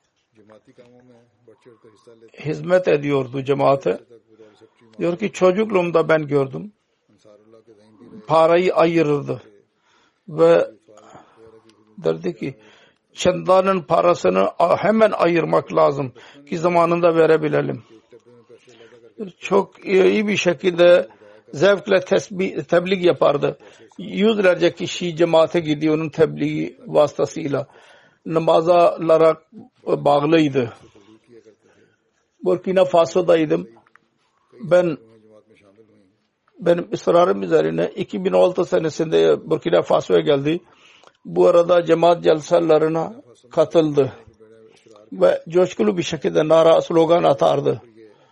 Hizmet ediyordu cemaate. Diyor ki çocukluğumda ben gördüm. Parayı ayırırdı. Ve derdi ki çandanın parasını hemen ayırmak lazım ki zamanında verebilelim. Çok iyi bir şekilde zevkle tebliğ yapardı. Yüzlerce kişi cemaate gidiyor onun tebliği vasıtasıyla. namazalara bağlıydı. Burkina Faso'daydım. Benim ısrarım üzerine 2006 senesinde Burkina Faso'ya geldi. Bu arada cemaat celsalarına katıldı ve coşkulu bir şekilde nara slogan atardı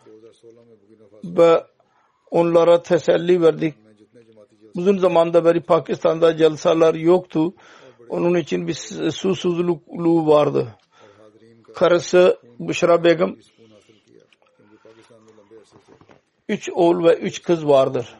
ve onlara teselli verdik. Uzun zamanda beri Pakistan'da celsalar yoktu. Onun için bir susuzluğu vardı. Karısı Büşra Begum 3 oğul ve 3 kız vardır.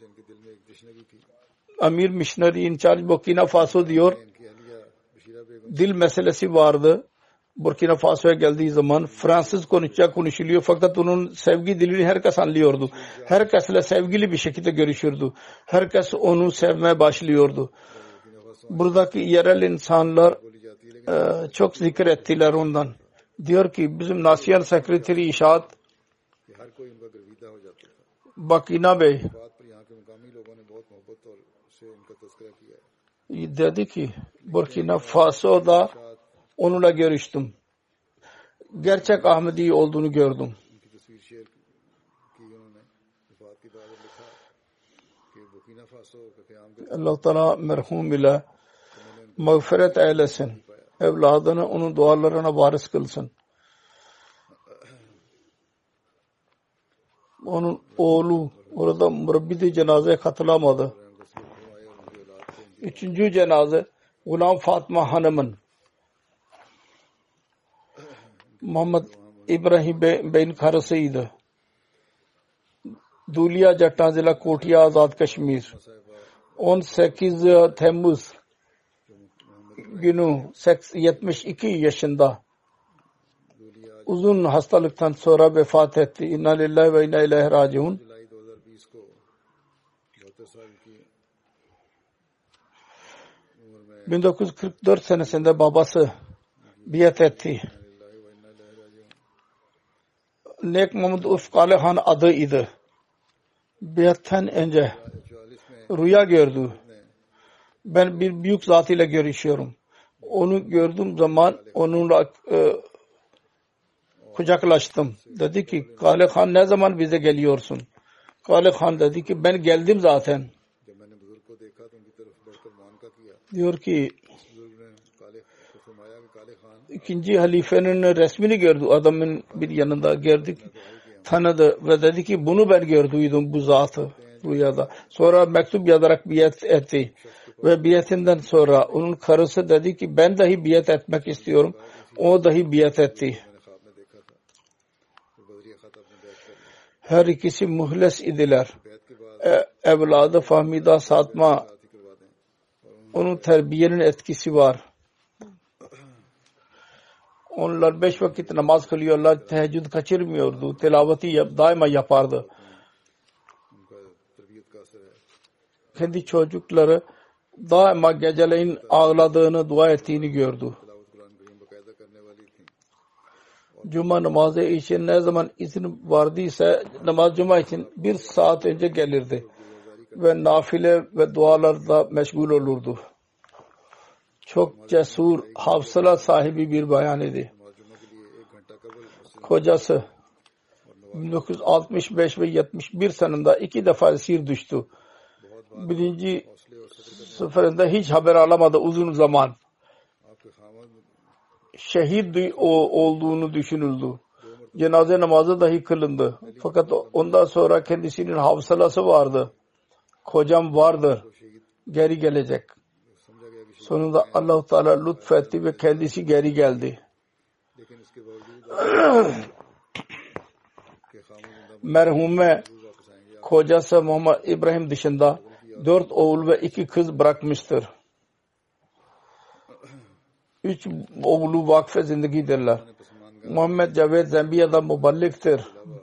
Amir Missionary in charge Burkina Faso diyor, dil meselesi vardı. Burkina Faso'ya geldiği zaman Fransız konuşuluyor fakat onun sevgi dilini herkes anlıyordu. Herkesle sevgili bir şekilde görüşürdü. Herkes onu sevmeye başlıyordu. Buradaki yerel insanlar çok zikir ettiler ondan. Diyor ki bizim National Secretary İşaat Bakina Bey dedi ki Burkina Faso'da onunla görüştüm. Gerçek Ahmedi olduğunu gördüm. Allah Teala merhum ile mağfiret eylesin. Evladını onun dualarına varis kılsın. Onun oğlu orada murabbide cenazeye katılamadı. 3. cenaze Gulam Fatma Hanım'ın Muhammed İbrahim Bey'in karısıydı. Duliya Jattan Zila Kotiya Azad Kashmir 18 Temmuz günü 72 yaşında uzun hastalıktan sonra vefat etti. İnna lillahi ve inna ileyhi raciun. 1944 senesinde babası biat etti. Nek Muhammed Urf Kalehan adıydı. Biattan önce rüya gördü. Ben bir büyük zat ile görüşüyorum. Onu gördüğüm zaman onunla kucaklaştım. Dedi ki Kale Khan ne zaman bize geliyorsun? Kale Khan dedi ki ben geldim zaten. Diyor ki ikinci halifenin resmini gördü. Adamın bir yanında gördük. Tanıdı ve dedi ki bunu ben gördüydüm bu zatı rüyada. Sonra mektup yazarak biat etti. Ve biatinden sonra onun karısı dedi ki ben dahi biat etmek istiyorum. O dahi biat etti. Her ikisi muhles idiler. Evladı Fahmida Satma onun terbiyenin etkisi var. Onlar 5 vakit namaz kılıyorlar. Teheccüd kaçırmıyordu. Tilaveti daima yapardı. Kendi çocukları daima geceleyin ağladığını, dua ettiğini gördü. Cuma namazı için ne zaman izin vardıysa cuma için 1 saat önce gelirdi. Ve nafile ve dualarda meşgul olurdu. Çok cesur, hafsala sahibi bir bayan idi. Kocası 1965 ve 71 seninde 2 defa esir düştü. Birinci seferinde hiç haber alamadı uzun zaman. Şehit olduğunu düşünüldü. Cenaze namazı dahi kılındı. Fakat ondan sonra kendisinin hafsalası vardı. Kocam vardır. Geri gelecek. Sonunda Allah-u Teala lütfetti ve kendisi geri geldi. Merhume kocası Muhammed İbrahim dışında 4 oğul ve 2 kız bırakmıştır. 3 oğlu vakfe zindegidirler. Muhammed Caved Zambiya'da muballiktir.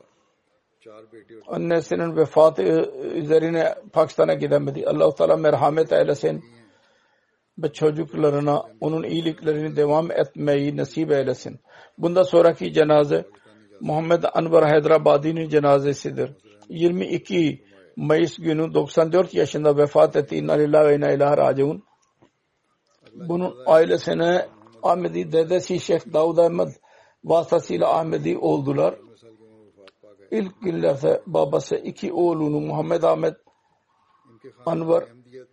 Annesinin vefatı üzerine Pakistan'a gidemedi. Allah-u Teala merhamet eylesin ve çocuklarına onun iyiliklerini devam etmeyi nasip eylesin. Bundan sonraki cenaze Muhammed Anwar Hyderabadi'nin cenazesidir. 22 Mayıs günü 94 yaşında vefat etti. İnna lillahi ve inna ileyhi raciun. Bunun ailesine Ahmedi dedesi Şeyh Davud Ahmed vasıtasıyla Ahmedi oldular. İlk günlerde babası iki oğlunu Muhammed Ahmed Anvar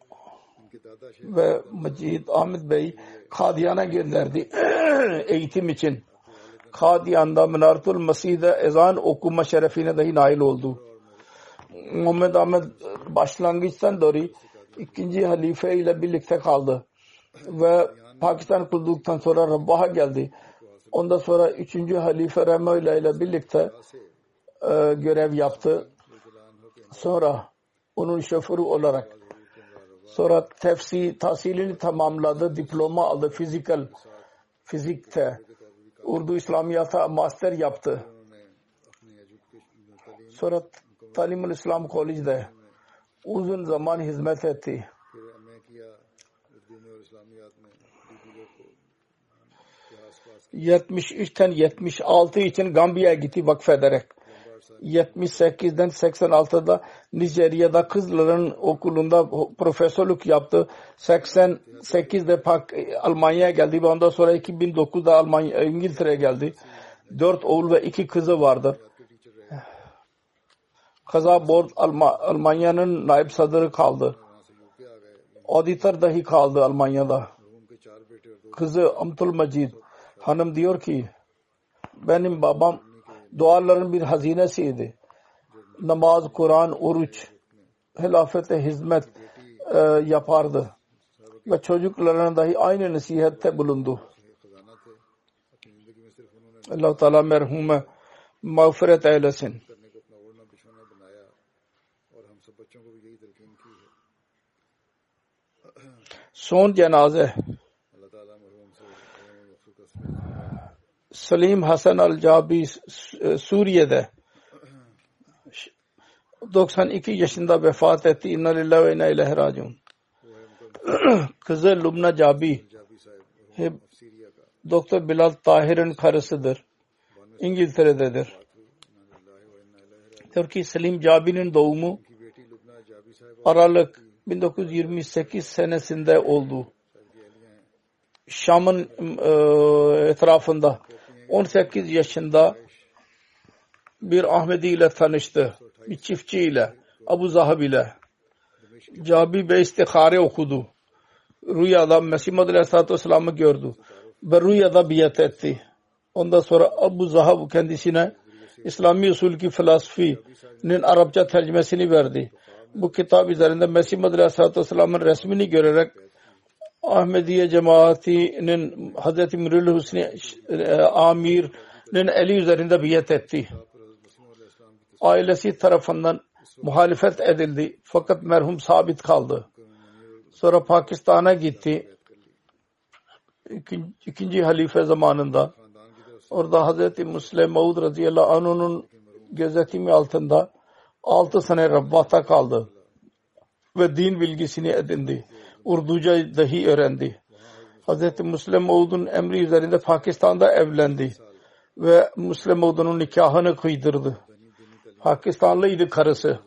ve Macid Ahmed Bey Kadiyan'a gönderdi eğitim için. Kadiyan'da Menaratul Mesih'de ezan okuma şerefine dahi nail oldu. Muhammed Ahmed başlangıçtan beri ikinci halife ile birlikte kaldı ve Pakistan kurulduktan sonra Rabbah'a geldi. Ondan sonra üçüncü halife Rahimahullah ile birlikte görev yaptı. Sonra onun şoförü olarak sonra tahsilini tamamladı. Diploma aldı. Fizikte. Urdu İslamiyat'a master yaptı. Sonra Talim-ül İslam College'de uzun zaman hizmet etti. 73'ten 76 için Gambiya'ya gitti vakfederek. 78'den 86'da Nijerya'da kızların okulunda profesörlük yaptı. 88'de Almanya'ya geldi ve ondan sonra 2009'da İngiltere'ye geldi. 4 oğul ve 2 kızı vardır. Kaza Board Almanya'nın naib sadrı kaldı. Auditor dahi kaldı Almanya'da. Kızı Amtul Macid hanım diyor ki benim babam duaların bir hazinesiydi. Namaz, Kur'an, oruç, hilafete hizmet yapardı. Ve çocuklarına dahi aynı nasihette bulundu. Allah Teala merhume mağfiret eylesin. Son cenaze Salim Hasan Al-Jabi Suriye'de 92 yaşında vefat etti. İnna lillahi ve inna ileyhi raciun. Kızı Lubna Jabi Doktor Bilal Tahir'in karısıdır. İngiltere'dedir. Türkiye Salim Jabi'nin doğumu Aralık 1928 senesinde oldu. Şam'ın etrafında 18 yaşında bir Ahmedi ile tanıştı. Bir çiftçi ile, Abu Zahab ile. Jabi Bey istihare okudu. Rüyada Mesih Muhammed Aleyhisselatü Vesselam'ı gördü. Ve rüyada biat etti. Ondan sonra Abu Zahab kendisine İslami usul ki felsefenin Arapça tercümesini verdi. Bu kitap üzerinde Mesih Muhammed Aleyhisselatü Vesselam'ın resmini görerek Ahmediye cemaatinin Hazreti Mirul Hüsnü Amir'in eli üzerinde biat etti. Ailesi tarafından muhalefet edildi. Fakat merhum sabit kaldı. Sonra Pakistan'a gitti. İkinci halife zamanında. Orada Hazreti Musleh Maud radıyallahu anh'ın gözetimi altında 6 sene Rabbah'ta kaldı. Ve din bilgisini edindi. Urduca dahi öğrendi. Hazreti Musleh Maud'un emri üzerinde Pakistan'da evlendi. Ve Musleh Maud'un nikahını kıydırdı. Pakistanlıydı karısı.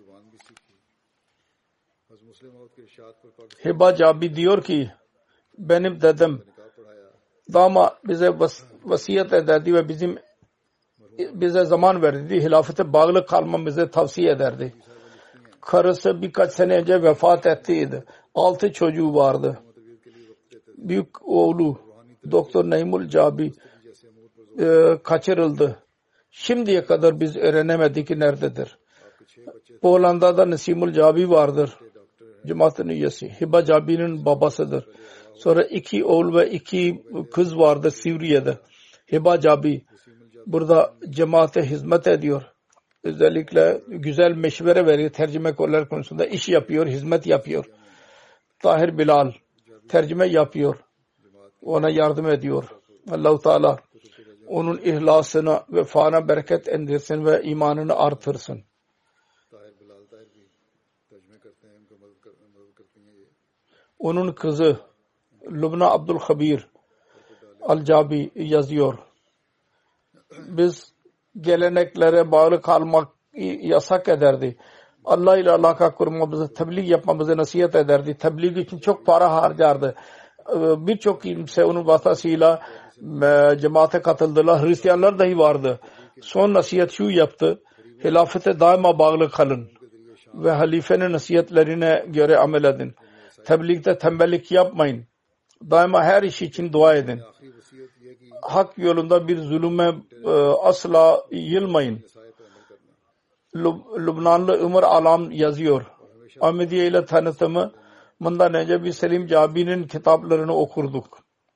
Hiba Jabi diyor ki benim dedem dama bize vasiyet ederdi ve bize zaman verdi. Hilafete bağlı kalmamızı tavsiye ederdi. Karısı birkaç sene önce vefat ettiydi. 6 çocuğu vardı. Büyük oğlu Doktor Naimul Jabi kaçırıldı. Şimdiye kadar biz öğrenemedik ki nerededir. Pollanda'da Nasimul Jabi vardır. Cemaat-ın üyesi. Hiba Jabi'nin babasıdır. Sonra 2 oğul ve 2 kız vardı Suriye'de. Hiba Jabi burada cemaate hizmet ediyor. Özellikle güzel meşvere veriyor. Tercüme konular konusunda iş yapıyor, hizmet yapıyor. Tahir Bilal tercüme yapıyor. Ona yardım ediyor. Allah-u Teala onun ihlasına ve fana bereket indirsin ve imanını artırsın. Onun kızı Lubna Abdul Habir Al-Jabi yazıyor. Biz geleneklere bağlı kalmak yasak ederdi. Allah ile alaka kurmamızı, tebliğ yapmamızı nasihat ederdi. Tebliğ için çok para harcardı. birçok kimse onun vasıtasıyla cemaate katıldılar. Hristiyanlar dahi vardı. Son nasihat şu yaptı: hilafete daima bağlı kalın ve halifenin nasihatlerine göre amel edin. Tebliğde tembellik yapmayın. Daima her iş için dua edin. Hak yolunda bir zulüme asla yılmayın. Lübnanlı Ömer Alam yazıyor. Ahmediye ile tanıtımı bundan önce bir Selim Cabi'nin kitaplarını okurduk.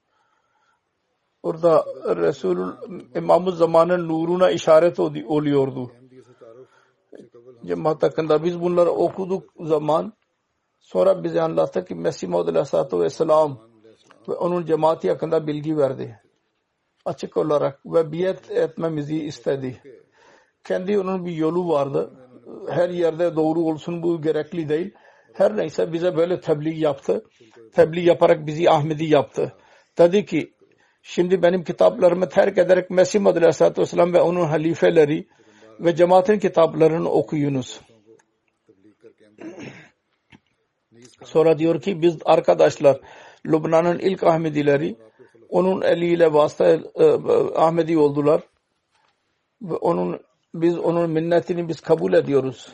Orada Resulü İmam-ı Zaman'ın nuruna işaret oluyordu. Cemaat hakkında biz bunları okuduk zaman sonra bize anlattı ki Mesih Maud Aleyhisselatü Vesselam ve onun cemaati hakkında bilgi verdi. Açık olarak ve biat etmemizi istedi. Kendi onun bir yolu vardı. Her yerde doğru olsun bu gerekli değil. Her neyse bize böyle tebliğ yaptı. Tebliğ yaparak bizi Ahmedi yaptı. Dedi ki şimdi benim kitaplarımı terk ederek Mesih Maud Aleyhisselatü Vesselam ve onun halifeleri ve cemaatin kitaplarını okuyunuz. Sonra diyor ki biz arkadaşlar Lübnan'ın ilk Ahmedileri onun eliyle vasıta Ahmedi oldular ve biz onun minnetini biz kabul ediyoruz.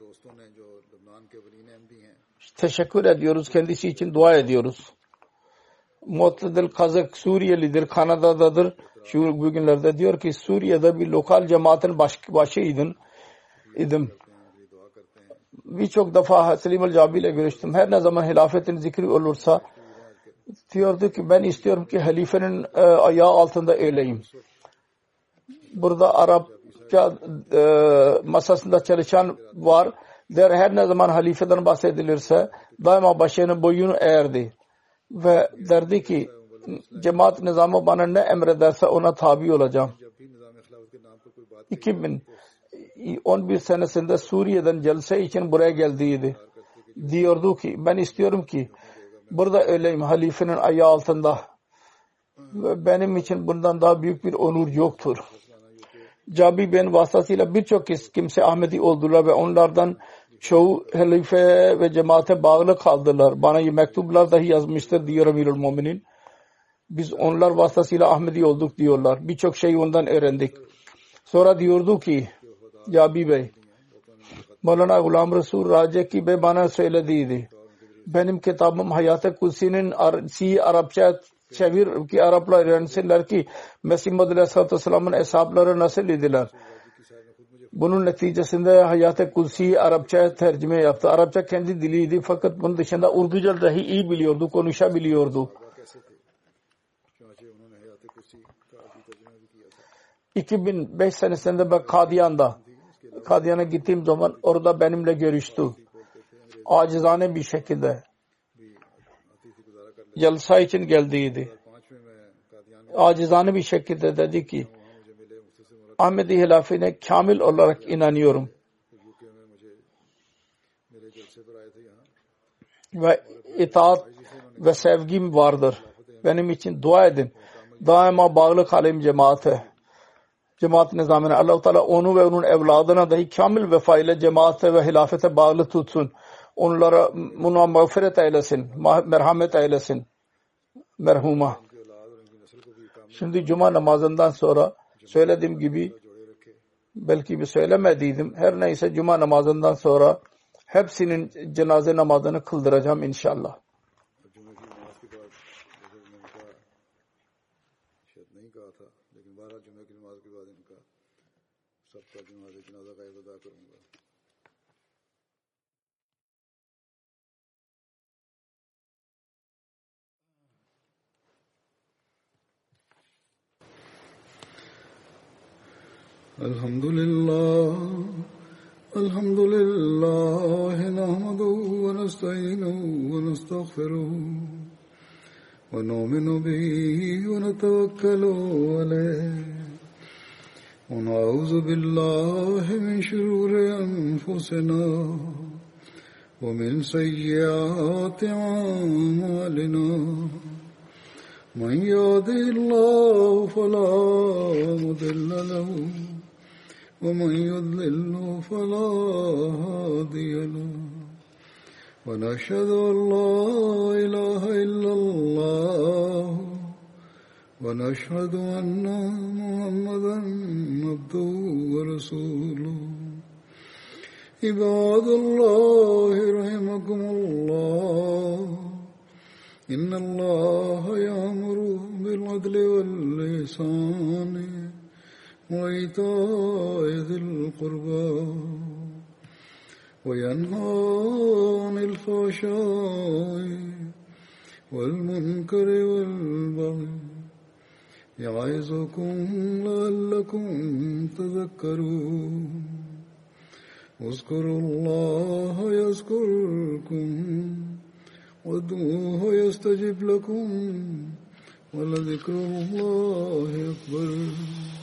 Teşekkür ediyoruz. Kendisi için dua ediyoruz. Mu'tedil Kazak Suriyelidir. Kanada'dadır. Şu bugünlerde diyor ki Suriye'de bir lokal cemaatin başıydım. Birçok defa Selim el-Cabi ile görüştüm. Her ne zaman hilafetin zikri olursa diyordu ki ben istiyorum ki halifenin ayağı altında öleyim. Burada Arapça masasında çalışan var. Her ne zaman halifeden bahsedilirse daima başının boyunu eğerdi. Ve derdi ki cemaat nizamı bana ne emrederse ona tabi olacağım. 2011 senesinde Suriye'den celse için buraya geldiydi. Diyordu ki ben istiyorum ki burada öleyim halifenin ayağı altında. Ve benim için bundan daha büyük bir onur yoktur. Cabi ben vasıtasıyla birçok kimse Ahmedi oldular ve onlardan çoğu halife ve cemaate bağlı kaldılar. Bana mektuplar dahi yazmıştır diyor Emirül Muminin. Biz onlar vasıtasıyla Ahmedi olduk diyorlar. Birçok şey ondan öğrendik. Sonra diyordu ki Cabi Bey Mevlana Gulam Resul Raceki Bey bana söylediydi. Benim kitabım Hayat-ı Kutsi'nin Arapça çevir ki Araplar öğrensinler ki Mesih Maud Aleyhisselatü Vesselam'ın hesapları nasıl idiler. Bunun neticesinde Hayat-ı Kutsi Arapça tercüme yaptı. Arapça kendi diliydi fakat bunun dışında Urduca dahi iyi biliyordu, konuşabiliyordu. 2005 senesinde ben Kadiyan'a gittiğim zaman orada benimle görüştü. Acizane bir şekilde. Jalsa için geldiydi. Acizane bir şekilde dedi ki Ahmedi hilafine kamil olarak inanıyorum. Ve itaat ve sevgim vardır. Benim için dua edin. Daima bağlı kalayım cemaate. Cemaat nizamına. Allah-u Teala onu ve onun evladına dahi kamil vefa ile cemaate ve hilafete bağlı tutsun. Onlara mağfiret eylesin. Merhamet eylesin. Merhuma. Şimdi cuma namazından sonra söylediğim gibi belki bir söylemediydim. Her neyse cuma namazından sonra hepsinin cenaze namazını kıldıracağım inşallah. Elhamdülillah nahmeduhu ve nestainuhu ve nestağfiruhu ve nu'minu bihi ve netevekkalu aleyh ve na'udzu billahi min şururi enfusina ve min seyyiati a'malina men yahdihillahu felâ mudille lehu ومن يضلل فلا هادي له ونشهد أن لا إله إلا الله ونشهد أن محمدا عبده ورسوله عباد الله رحمكم الله إن الله يأمر بالعدل والإحسان وإيتاء ذي القربى وينهى عن الفحشاء والمنكر والبغي يعظكم لعلكم تذكرون اذكروا الله يذكركم وادعوه يستجب لكم ولذكر الله أكبر